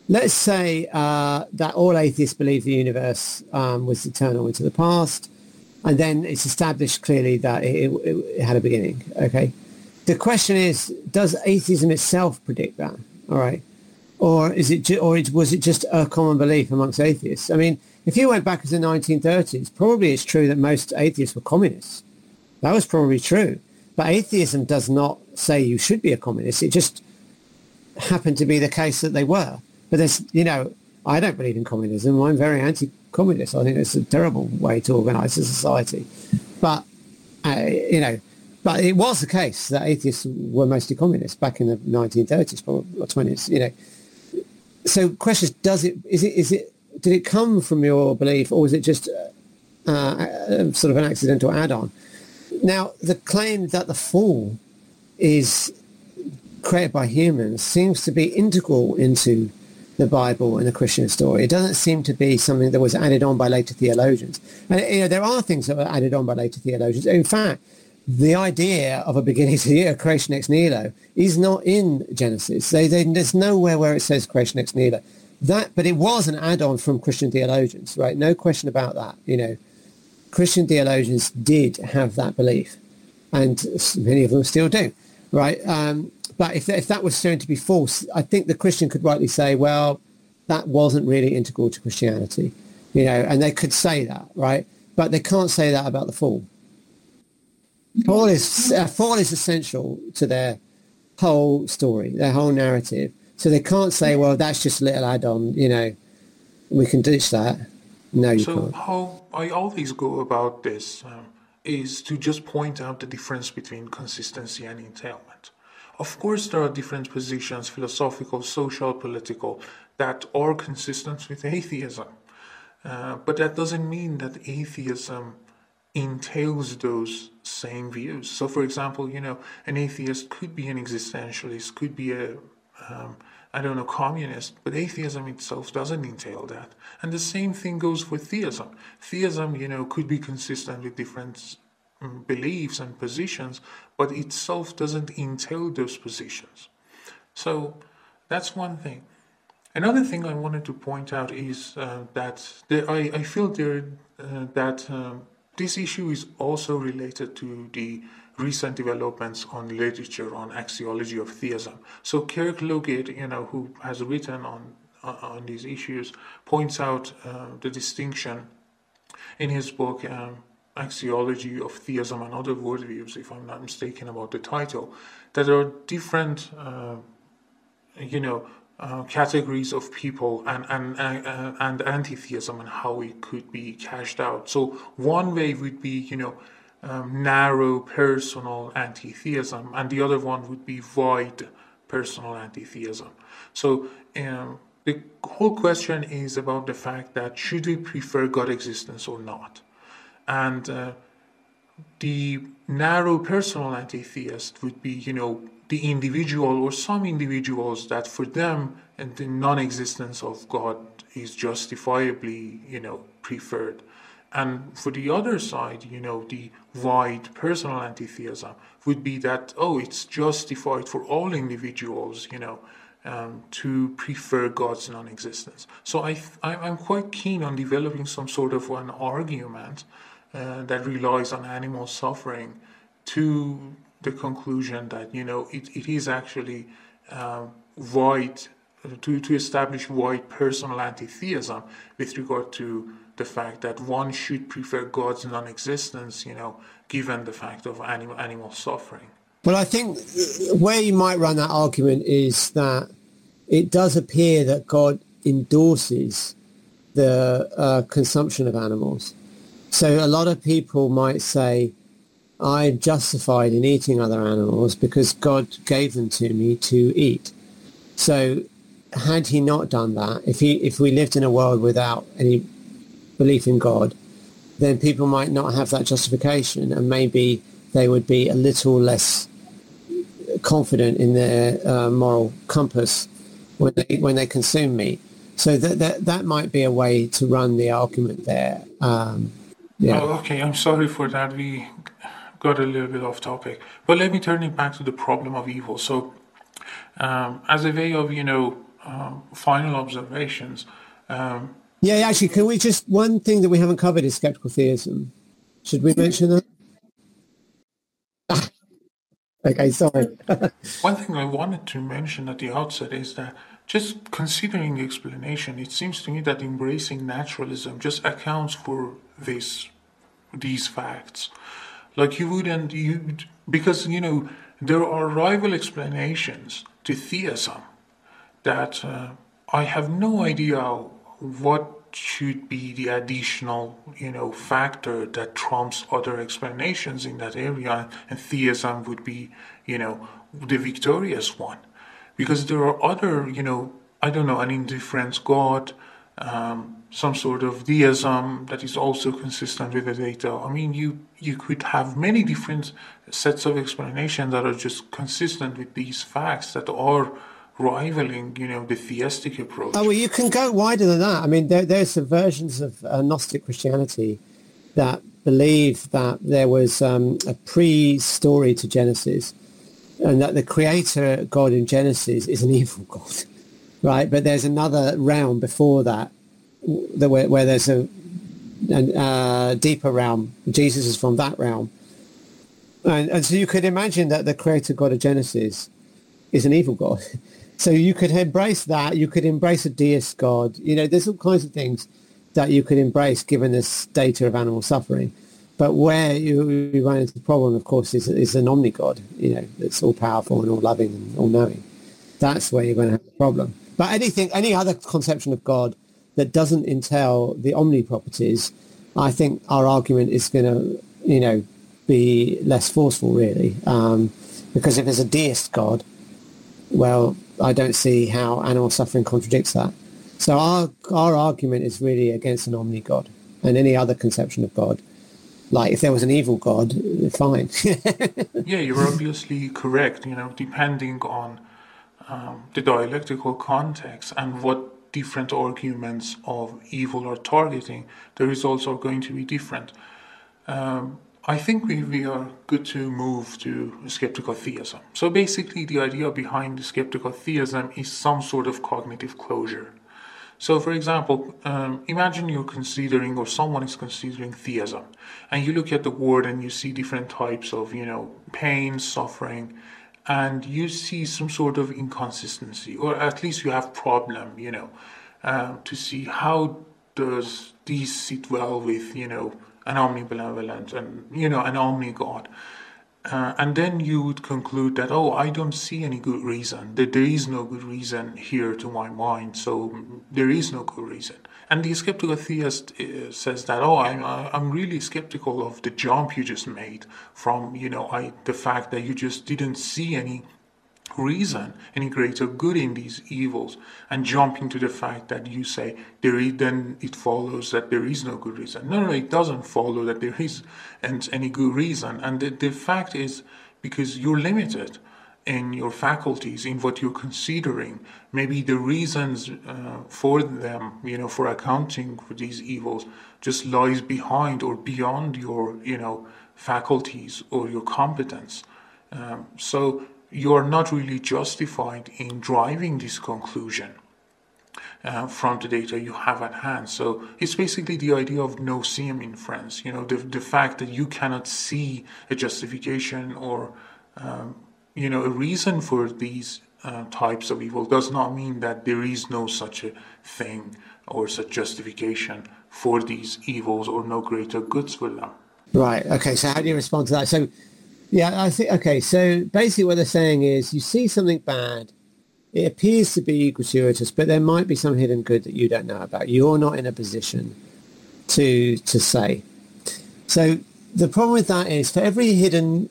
B: let's say uh, that all atheists believe the universe um, was eternal into the past, and then it's established clearly that it, it, it had a beginning. Okay, the question is, does atheism itself predict that? All right, or is it, ju- or it, was it just a common belief amongst atheists? I mean, if you went back to the nineteen thirties, probably it's true that most atheists were communists. That was probably true, but atheism does not say you should be a communist. It just happened to be the case that they were. But there's, you know, I don't believe in communism. I'm very anti-communist. I think it's a terrible way to organise a society. But, uh, you know, but it was the case that atheists were mostly communists back in the nineteen thirties or twenties, you know. So question is, does it, is it, is it, did it come from your belief, or was it just uh, uh, sort of an accidental add-on? Now, the claim that the fall is created by humans seems to be integral into the Bible and the Christian story. It doesn't seem to be something that was added on by later theologians. And, you know, there are things that were added on by later theologians. In fact, the idea of a beginning to the year, creation ex nihilo, is not in Genesis. They, they, there's nowhere where it says creation ex nihilo. That, but it was an add-on from Christian theologians, right? No question about that. You know, Christian theologians did have that belief, and many of them still do, right? Um, but if, if that was shown to be false, I think the Christian could rightly say, well, that wasn't really integral to Christianity, you know, and they could say that, right? But they can't say that about the fall. Fall is, uh, fall is essential to their whole story, their whole narrative. So they can't say, well, that's just a little add-on, you know, we can ditch that. No, you
A: So
B: can't.
A: how I always go about this um, is to just point out the difference between consistency and entailment. Of course, there are different positions, philosophical, social, political, that are consistent with atheism. Uh, but that doesn't mean that atheism entails those same views. So, for example, you know, an atheist could be an existentialist, could be a, um, I don't know, communist, but atheism itself doesn't entail that. And the same thing goes for theism. Theism, you know, could be consistent with different um, beliefs and positions, but itself doesn't entail those positions. So that's one thing. Another thing I wanted to point out is uh, that there, I, I feel there uh, that um, this issue is also related to the recent developments on literature on axiology of theism. So Kirk Logate, you know, who has written on uh, on these issues, points out uh, the distinction in his book um, Axiology of Theism and Other Worldviews, if I'm not mistaken about the title, that there are different, uh, you know, uh, categories of people and and uh, and anti-theism and how it could be cashed out. So one way would be, you know, um, narrow personal anti-theism, and the other one would be wide personal anti-theism. So um, the whole question is about the fact that should we prefer God existence or not? And uh, the narrow personal anti-theist would be, you know, the individual or some individuals that for them and the non-existence of God is justifiably, you know, preferred. And for the other side, you know, the wide personal anti-theism would be that, oh, it's justified for all individuals, you know, um, to prefer God's non-existence. So I, I'm quite keen on developing some sort of an argument uh, that relies on animal suffering to the conclusion that, you know, it, it is actually uh, wide, to, to establish wide personal anti-theism with regard to the fact that one should prefer God's non-existence, you know, given the fact of animal, animal suffering.
B: Well, I think where you might run that argument is that it does appear that God endorses the uh, consumption of animals. So a lot of people might say, I'm justified in eating other animals because God gave them to me to eat. So had he not done that, if he if we lived in a world without any belief in God, then people might not have that justification, and maybe they would be a little less confident in their uh, moral compass when they when they consume meat. So that that that might be a way to run the argument there. Um, yeah.
A: Oh, okay, I'm sorry for that. We got a little bit off topic, but let me turn it back to the problem of evil. So, um, as a way of, you know, um, final observations. Um,
B: Yeah, actually, can we just, one thing that we haven't covered is skeptical theism. Should we mention that? Okay, sorry.
A: One thing I wanted to mention at the outset is that just considering the explanation, it seems to me that embracing naturalism just accounts for this, these facts. Like you wouldn't, you because you know there are rival explanations to theism that uh, I have no idea what should be the additional, you know, factor that trumps other explanations in that area, and theism would be, you know, the victorious one, because there are other, you know, I don't know, an indifferent God, um, some sort of deism that is also consistent with the data. I mean, you you could have many different sets of explanations that are just consistent with these facts that are rivaling, you know, the theistic approach.
B: Oh, well, you can go wider than that. I mean, there, there's some versions of uh, Gnostic Christianity that believe that there was um, a pre-story to Genesis, and that the creator God in Genesis is an evil God, right? But there's another realm before that, the, where, where there's a, a uh, deeper realm. Jesus is from that realm. And, and so you could imagine that the creator God of Genesis is an evil God. So you could embrace that. You could embrace a deist God. You know, there's all kinds of things that you could embrace given this data of animal suffering. But where you, you run into the problem, of course, is, is an omni-God, you know, that's all-powerful and all-loving and all-knowing. That's where you're going to have a problem. But anything, any other conception of God that doesn't entail the omni properties, I think our argument is going to, you know, be less forceful, really. Um, because if there's a deist God, well, I don't see how animal suffering contradicts that. So our our argument is really against an omni-God and any other conception of God. Like if there was an evil God, fine.
A: Yeah, you're obviously correct, you know, depending on um, the dialectical context and what different arguments of evil are targeting, the results are going to be different. Um, I think we, we are good to move to skeptical theism. So basically the idea behind skeptical theism is some sort of cognitive closure. So for example, um, imagine you're considering, or someone is considering theism, and you look at the world and you see different types of, you know, pain, suffering, and you see some sort of inconsistency, or at least you have problem, you know, uh, to see how does these sit well with, you know, an omnibenevolent and, you know, an omni-God. Uh, and then you would conclude that, oh, I don't see any good reason, that there is no good reason here to my mind, so there is no good reason. And the skeptical theist uh, says that, oh, I'm, I'm really skeptical of the jump you just made from, you know, I, the fact that you just didn't see any reason, any greater good in these evils, and jumping to the fact that you say there is, then it follows that there is no good reason. No, no, it doesn't follow that there is and any good reason. And the, the fact is, because you're limited in your faculties, in what you're considering, maybe the reasons uh, for them, you know, for accounting for these evils just lies behind or beyond your, you know, faculties or your competence. Um, so you're not really justified in driving this conclusion uh, from the data you have at hand. So it's basically the idea of no-seeing inference, you know, the, the fact that you cannot see a justification or, um, you know, a reason for these uh, types of evil does not mean that there is no such a thing or such justification for these evils or no greater goods for them.
B: Right, okay, so how do you respond to that? So yeah, I think, okay, so basically what they're saying is you see something bad, it appears to be gratuitous, but there might be some hidden good that you don't know about. You're not in a position to to say. So the problem with that is for every hidden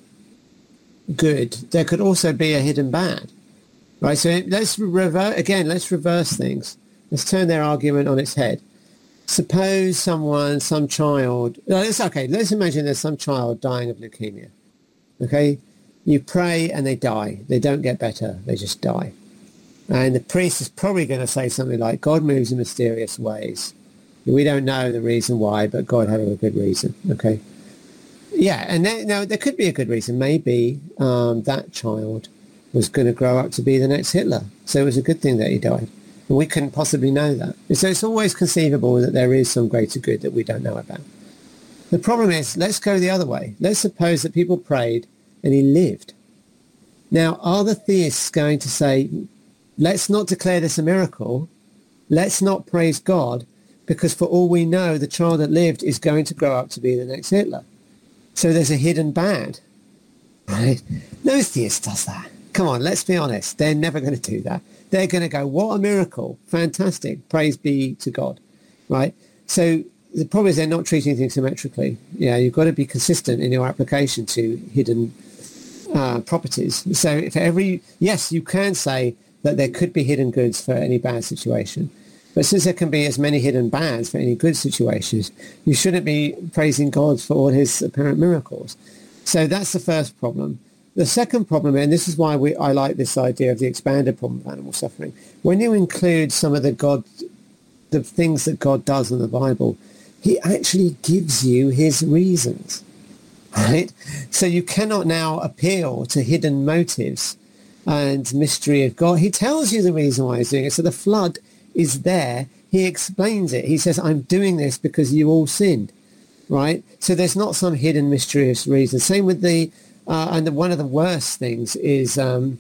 B: good, there could also be a hidden bad, right? So let's reverse, again, let's reverse things. Let's turn their argument on its head. Suppose someone, some child, no, it's okay, let's imagine there's some child dying of leukemia. Okay, you pray and they die. They don't get better. They just die. And the priest is probably going to say something like, God moves in mysterious ways. We don't know the reason why, but God had a good reason. Okay. Yeah, and there, now there could be a good reason. Maybe um, that child was going to grow up to be the next Hitler. So it was a good thing that he died. We couldn't possibly know that. So it's always conceivable that there is some greater good that we don't know about. The problem is, let's go the other way. Let's suppose that people prayed and he lived. Now, are the theists going to say, let's not declare this a miracle, let's not praise God, because for all we know, the child that lived is going to grow up to be the next Hitler. So there's a hidden bad, right? No theist does that. Come on, let's be honest. They're never going to do that. They're going to go, what a miracle. Fantastic. Praise be to God, right? So the problem is they're not treating things symmetrically. Yeah, you've got to be consistent in your application to hidden uh, properties. So for every, yes, you can say that there could be hidden goods for any bad situation. But since there can be as many hidden bads for any good situations, you shouldn't be praising God for all his apparent miracles. So that's the first problem. The second problem, and this is why we, I like this idea of the expanded problem of animal suffering, when you include some of the God, the things that God does in the Bible, he actually gives you his reasons, right? So you cannot now appeal to hidden motives and mystery of God. He tells you the reason why he's doing it. So the flood is there. He explains it. He says, I'm doing this because you all sinned, right? So there's not some hidden mysterious reason. Same with the, uh, and the, one of the worst things is um,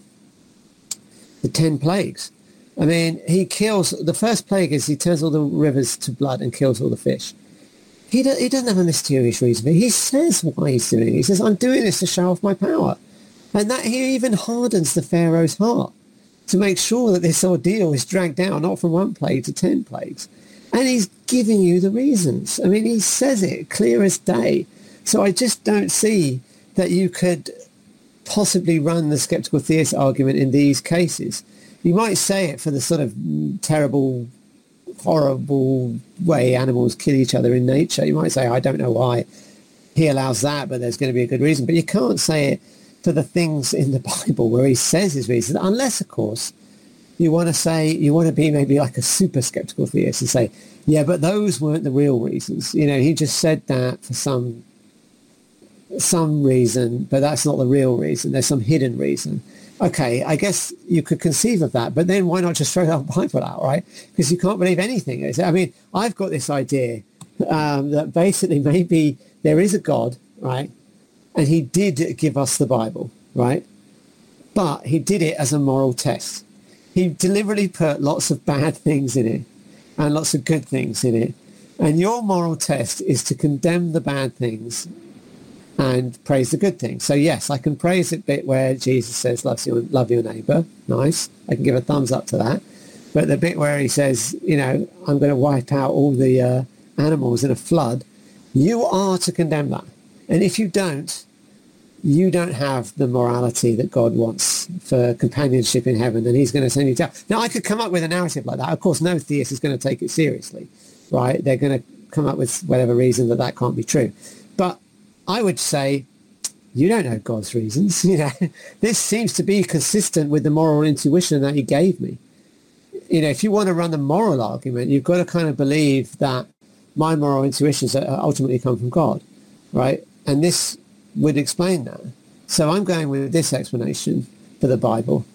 B: the ten plagues. I mean, he kills, the first plague is he turns all the rivers to blood and kills all the fish. He, do, he doesn't have a mysterious reason. He says why he's doing it. He says, I'm doing this to show off my power. And that he even hardens the Pharaoh's heart to make sure that this ordeal is dragged down, not from one plague to ten plagues. And he's giving you the reasons. I mean, he says it clear as day. So I just don't see that you could possibly run the skeptical theist argument in these cases. You might say it for the sort of terrible, horrible way animals kill each other in nature. You might say, I don't know why he allows that, but there's going to be a good reason. But you can't say it for the things in the Bible where he says his reasons, unless, of course, you want to say, you want to be maybe like a super skeptical theist and say, yeah, but those weren't the real reasons. You know, he just said that for some some reason, but that's not the real reason. There's some hidden reason. Okay, I guess you could conceive of that, but then why not just throw that Bible out, right? Because you can't believe anything. I mean, I've got this idea um, that basically maybe there is a God, right? And he did give us the Bible, right? But he did it as a moral test. He deliberately put lots of bad things in it and lots of good things in it. And your moral test is to condemn the bad things and praise the good things. So yes, I can praise the bit where Jesus says, love your, love your neighbour. Nice. I can give a thumbs up to that. But the bit where he says, you know, I'm going to wipe out all the uh, animals in a flood, you are to condemn that. And if you don't, you don't have the morality that God wants for companionship in heaven, then he's going to send you down. Now, I could come up with a narrative like that. Of course, no theist is going to take it seriously, right? They're going to come up with whatever reason that that can't be true. But I would say, you don't know God's reasons. You know, this seems to be consistent with the moral intuition that he gave me. You know, if you want to run the moral argument, you've got to kind of believe that my moral intuitions ultimately come from God, right? And this would explain that. So I'm going with this explanation for the Bible.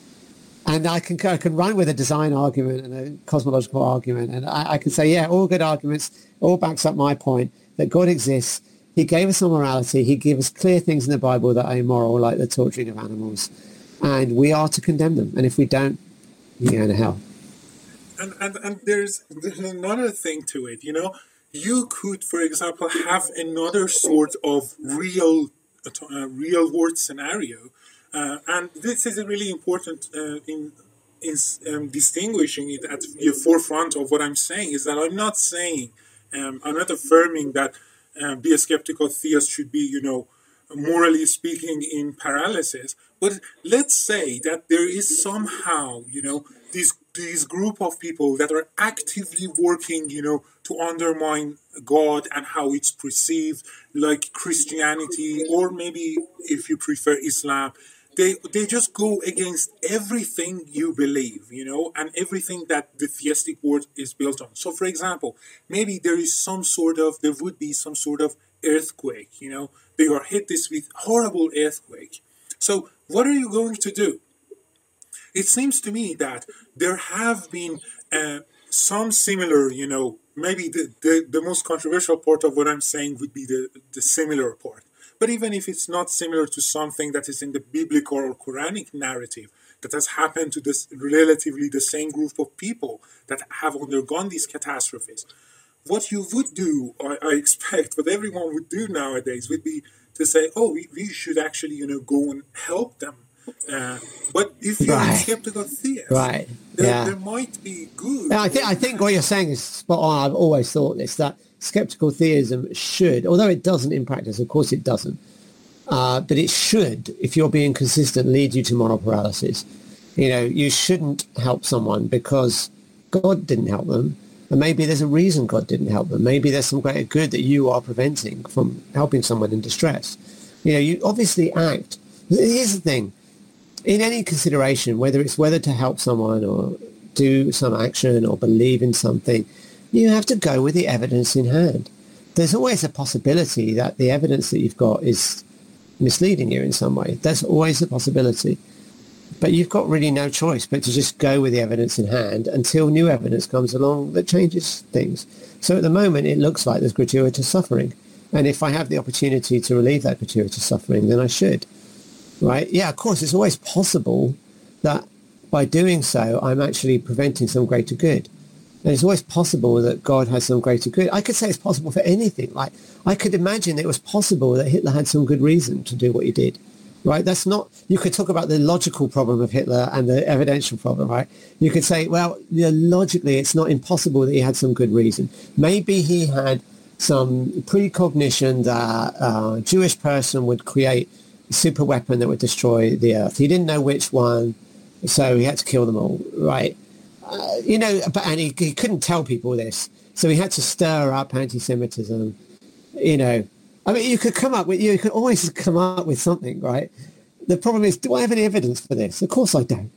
B: And I can I can run with a design argument and a cosmological argument. And I, I can say, yeah, all good arguments, all backs up my point that God exists. He gave us some morality. He gave us clear things in the Bible that are immoral, like the torturing of animals. And we are to condemn them. And if we don't, you're going to hell.
C: And, and, and there's, there's another thing to it, you know. You could, for example, have another sort of real, uh, real world scenario, uh, and this is really important uh, in in um, distinguishing it at the forefront of what I'm saying. Is that I'm not saying, um, I'm not affirming that uh, be a skeptical theist should be, you know, morally speaking, in paralysis. But let's say that there is somehow, you know, this this group of people that are actively working, you know, to undermine God and how it's perceived, like Christianity, or maybe if you prefer Islam. They they just go against everything you believe, you know, and everything that the theistic world is built on. So, for example, maybe there is some sort of, there would be some sort of earthquake, you know, they are hit this with horrible earthquake. So what are you going to do? it seems to me that there have been uh, some similar, you know, maybe the, the, the most controversial part of what I'm saying would be the, the similar part. But even if it's not similar to something that is in the biblical or Quranic narrative that has happened to this relatively the same group of people that have undergone these catastrophes, what you would do, I, I expect, what everyone would do nowadays would be to say, oh, we, we should actually, you know, go and help them. Uh, but if you're
B: right.
C: a skeptical theist,
B: right.
C: there,
B: yeah.
C: there might be good.
B: Yeah, I think I think what you're saying is spot on. I've always thought this, that skeptical theism should, although it doesn't in practice, of course it doesn't, uh, but it should, if you're being consistent, lead you to moral paralysis. You know, you shouldn't help someone because God didn't help them. And maybe there's a reason God didn't help them. Maybe there's some greater good that you are preventing from helping someone in distress. You know, you obviously act. Here's the thing. In any consideration, whether it's whether to help someone or do some action or believe in something, you have to go with the evidence in hand. There's always a possibility that the evidence that you've got is misleading you in some way. There's always a possibility. But you've got really no choice but to just go with the evidence in hand until new evidence comes along that changes things. So at the moment, it looks like there's gratuitous suffering. And if I have the opportunity to relieve that gratuitous suffering, then I should. Right? Yeah, of course, it's always possible that by doing so, I'm actually preventing some greater good. And it's always possible that God has some greater good. I could say it's possible for anything. Like, I could imagine it was possible that Hitler had some good reason to do what he did. Right? That's not, you could talk about the logical problem of Hitler and the evidential problem, right? You could say, well, you know, logically, it's not impossible that he had some good reason. Maybe he had some precognition that a Jewish person would create a super weapon that would destroy the earth. He didn't know which one, so he had to kill them all, right? Uh, you know, but, and he, he couldn't tell people this, so he had to stir up anti-Semitism, you know. I mean, you could come up with, you could always come up with something, right? The problem is, do I have any evidence for this? Of course I don't.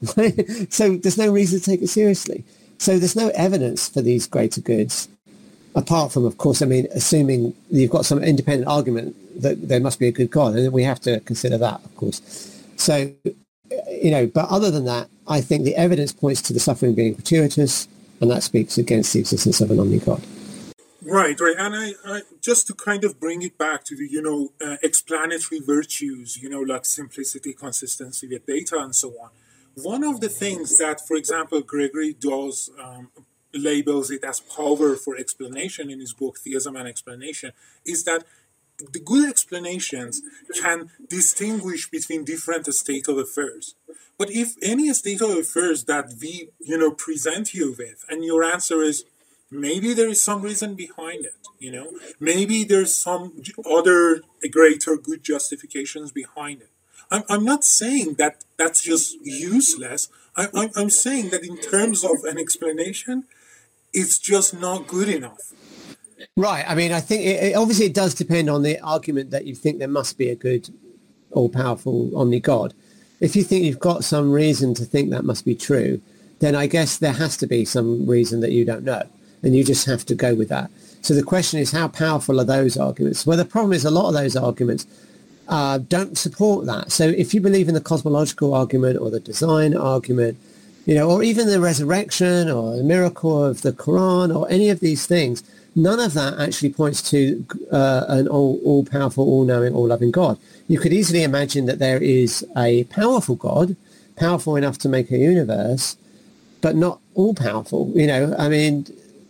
B: So there's no reason to take it seriously. So there's no evidence for these greater goods, apart from, of course, I mean, assuming you've got some independent argument that there must be a good God, and we have to consider that, of course. So, you know, but other than that, I think the evidence points to the suffering being gratuitous, and that speaks against the existence of an omni-God.
C: Right, right. And I, I, just to kind of bring it back to the, you know, uh, explanatory virtues, you know, like simplicity, consistency with data and so on. One of the things that, for example, Gregory does um, labels it as power for explanation in his book, Theism and Explanation, is that the good explanations can distinguish between different state of affairs. But if any state of affairs that we, you know, present you with, and your answer is, maybe there is some reason behind it, you know. Maybe there's some other greater good justifications behind it. I'm, I'm not saying that that's just useless. I, I'm, I'm saying that in terms of an explanation, it's just not good enough.
B: Right. I mean, I think it, it, obviously it does depend on the argument that you think there must be a good, all-powerful omni-God. If you think you've got some reason to think that must be true, then I guess there has to be some reason that you don't know. And you just have to go with that. So the question is, how powerful are those arguments? Well, the problem is a lot of those arguments uh, don't support that. So if you believe in the cosmological argument or the design argument, you know, or even the resurrection or the miracle of the Quran or any of these things, none of that actually points to uh, an all, all-powerful, all-knowing, all-loving God. You could easily imagine that there is a powerful God, powerful enough to make a universe, but not all-powerful. You know, I mean,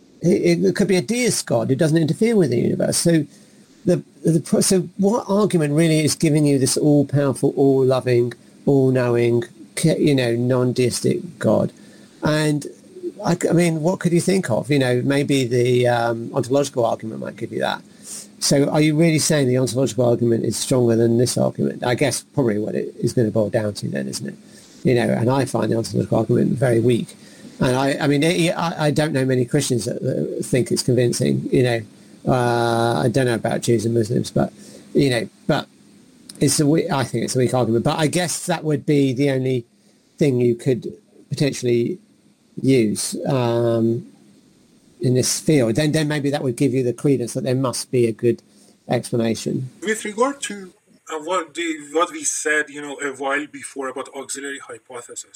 B: it, it could be a deist God who doesn't interfere with the universe. So, the, the so what argument really is giving you this all-powerful, all-loving, all-knowing, you know, non-deistic God? And I, I mean, what could you think of? You know, maybe the um, ontological argument might give you that. So are you really saying the ontological argument is stronger than this argument? I guess probably what it is going to boil down to then, isn't it? You know, and I find the ontological argument very weak. And I, I mean, it, I, I don't know many Christians that, that think it's convincing, you know. Uh, I don't know about Jews and Muslims, but, you know, but it's a weak, I think it's a weak argument. But I guess that would be the only thing you could potentially use um, in this field. Then, then maybe that would give you the credence that there must be a good explanation.
C: With regard to uh, what, the, what we said, you know, a while before about auxiliary hypothesis,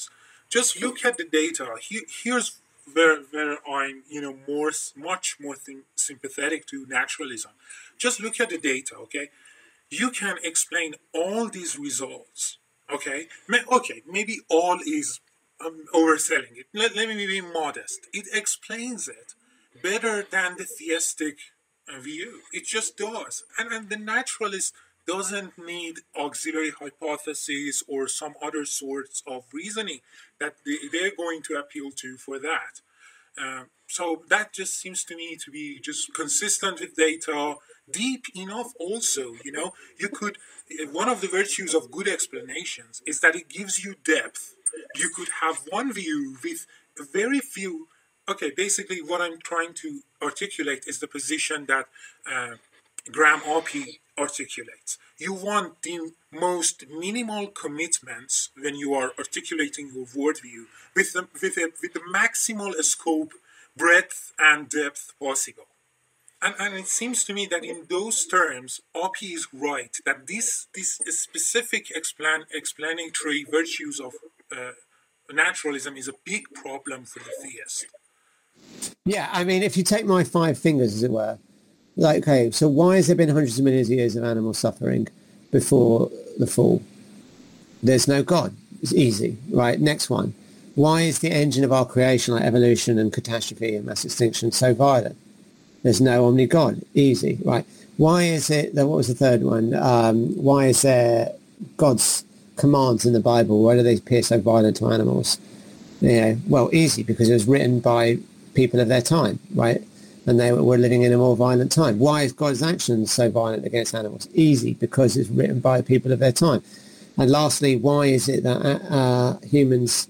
C: Just look at the data. Here, here's where where I'm you know more much more th- sympathetic to naturalism. Just look at the data, okay? You can explain all these results, okay? May- okay, maybe all is um, overselling it. Let, let me be modest. It explains it better than the theistic uh, view. It just does. And, and the naturalist doesn't need auxiliary hypotheses or some other sorts of reasoning that they, they're going to appeal to for that. Uh, so that just seems to me to be just consistent with data, deep enough also, you know. You could, one of the virtues of good explanations is that it gives you depth. You could have one view with very few, okay, basically what I'm trying to articulate is the position that uh, Graham Oppy articulates. You want the most minimal commitments when you are articulating your worldview with the, with, a, with the maximal scope, breadth, and depth possible. And, and it seems to me that in those terms, Oppy is right, that this, this specific explan, explanatory virtues of uh, naturalism is a big problem for the theist.
B: Yeah, I mean, if you take my five fingers, as it were, like, okay, so why has there been hundreds of millions of years of animal suffering before the fall? There's no God. It's easy, right? Next one. Why is the engine of our creation, like evolution and catastrophe and mass extinction, so violent? There's no omni-God. Easy, right? Why is it, that, what was the third one? Um, why is there God's commands in the Bible? Why do they appear so violent to animals? Yeah, well, easy, because it was written by people of their time, right? And they were living in a more violent time. Why is God's actions so violent against animals? Easy, because it's written by people of their time. And lastly, why is it that uh, humans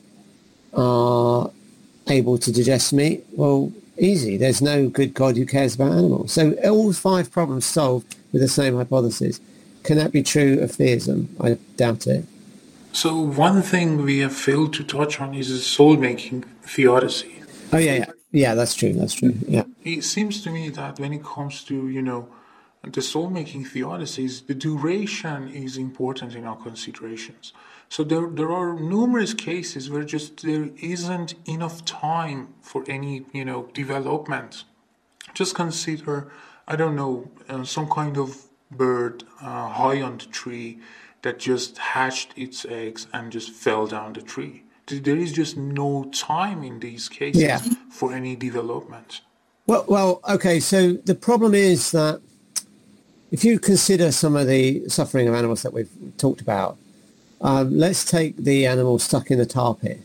B: are able to digest meat? Well, easy. There's no good God who cares about animals. So all five problems solved with the same hypothesis. Can that be true of theism? I doubt it.
A: So one thing we have failed to touch on is the soul-making theodicy.
B: Oh, yeah, yeah. Yeah, that's true. That's true. Yeah.
A: It seems to me that when it comes to, you know, the soul-making theodicies, the duration is important in our considerations. So there, there are numerous cases where just there isn't enough time for any, you know, development. Just consider, I don't know, uh, some kind of bird uh, high on the tree that just hatched its eggs and just fell down the tree. There is just no time in these cases yeah. for any development.
B: Well, well, okay, so the problem is that if you consider some of the suffering of animals that we've talked about, um, let's take the animal stuck in the tar pit.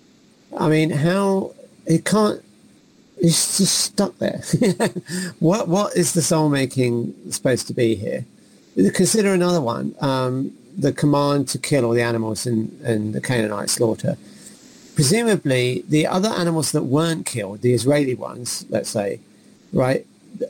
B: I mean, how, it can't, it's just stuck there. what What is the soul-making supposed to be here? Consider another one, um, the command to kill all the animals in, in the Canaanite slaughter. Presumably, the other animals that weren't killed, the Israeli ones, let's say, right,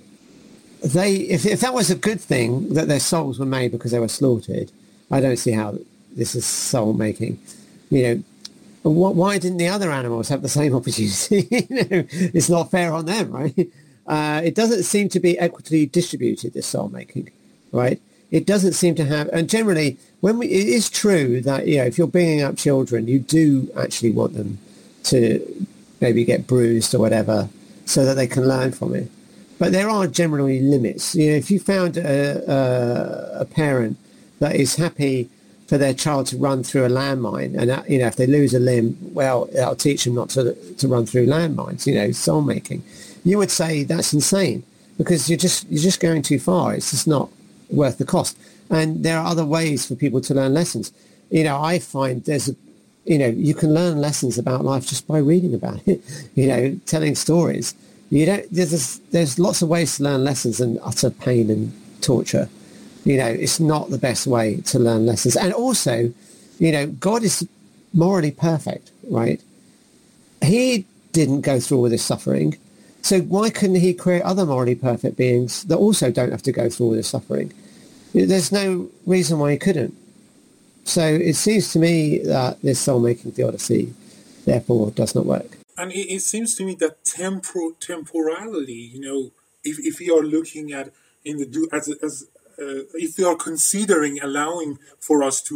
B: they if, if that was a good thing, that their souls were made because they were slaughtered, I don't see how this is soul-making. You know, wh- why didn't the other animals have the same opportunity? You know, it's not fair on them, right? Uh, it doesn't seem to be equitably distributed, this soul-making, right? It doesn't seem to have, and generally, when we, it is true that, you know, if you're bringing up children, you do actually want them to maybe get bruised or whatever so that they can learn from it. But there are generally limits. You know, if you found a, a, a parent that is happy for their child to run through a landmine, and, that, you know, if they lose a limb, well, that'll teach them not to, to run through landmines, you know, soul making. You would say that's insane because you're just, you're just going too far. It's just not worth the cost. And there are other ways for people to learn lessons. You know, I find there's a, you know, you can learn lessons about life just by reading about it, you know, telling stories. You don't, there's, there's lots of ways to learn lessons than utter pain and torture. You know, it's not the best way to learn lessons. And also, you know, God is morally perfect, right? He didn't go through all this suffering. So why couldn't he create other morally perfect beings that also don't have to go through all this suffering? There's no reason why he couldn't. So it seems to me that this soul-making theodicy, therefore, does not work.
C: And it, it seems to me that tempor- temporally, you know, if, if we are looking at in the do as as uh, if we are considering allowing for us to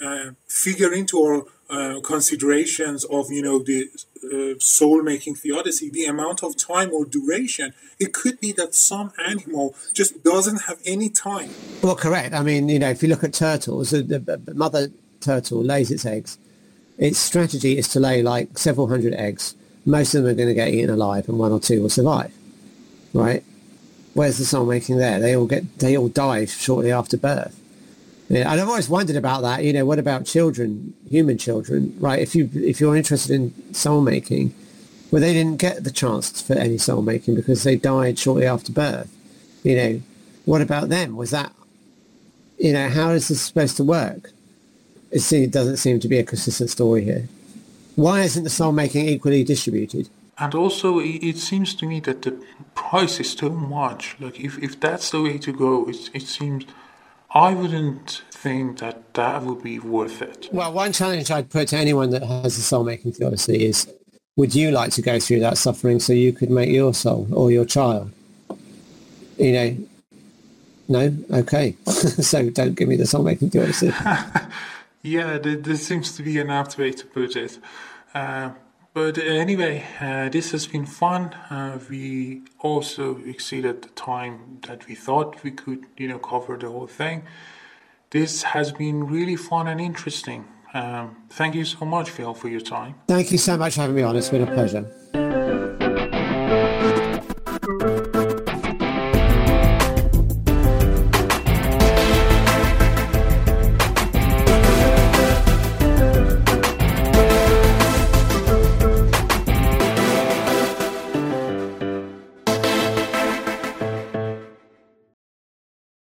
C: uh, figure into our uh, considerations of, you know, the uh, soul-making theodicy, the amount of time or duration. It could be that some animal just doesn't have any time.
B: Well, correct. I mean, you know, if you look at turtles, the, the mother turtle lays its eggs. Its strategy is to lay like several hundred eggs. Most of them are going to get eaten alive, and one or two will survive. Right? Where's the soul making there? They all get, they all die shortly after birth. Yeah, and I've always wondered about that. You know, what about children, human children, right? If you if you're interested in soul making, well, they didn't get the chance for any soul making because they died shortly after birth. You know, what about them? Was that, you know, how is this supposed to work? It, seems, it doesn't seem to be a consistent story here. Why isn't the soul making equally distributed?
A: And also, it, it seems to me that the price is too much. Like, if, if that's the way to go, it, it seems... I wouldn't think that that would be worth it.
B: Well, one challenge I'd put to anyone that has a soul-making theodicy is, would you like to go through that suffering so you could make your soul or your child? You know, no? Okay. So don't give me the soul-making theodicy.
A: Yeah, there seems to be an apt way to put it. Uh, But anyway, uh, this has been fun. Uh, we also exceeded the time that we thought we could, you know, cover the whole thing. This has been really fun and interesting. Um, thank you so much, Phil, for your time.
B: Thank you so much for having me on. It's been a pleasure.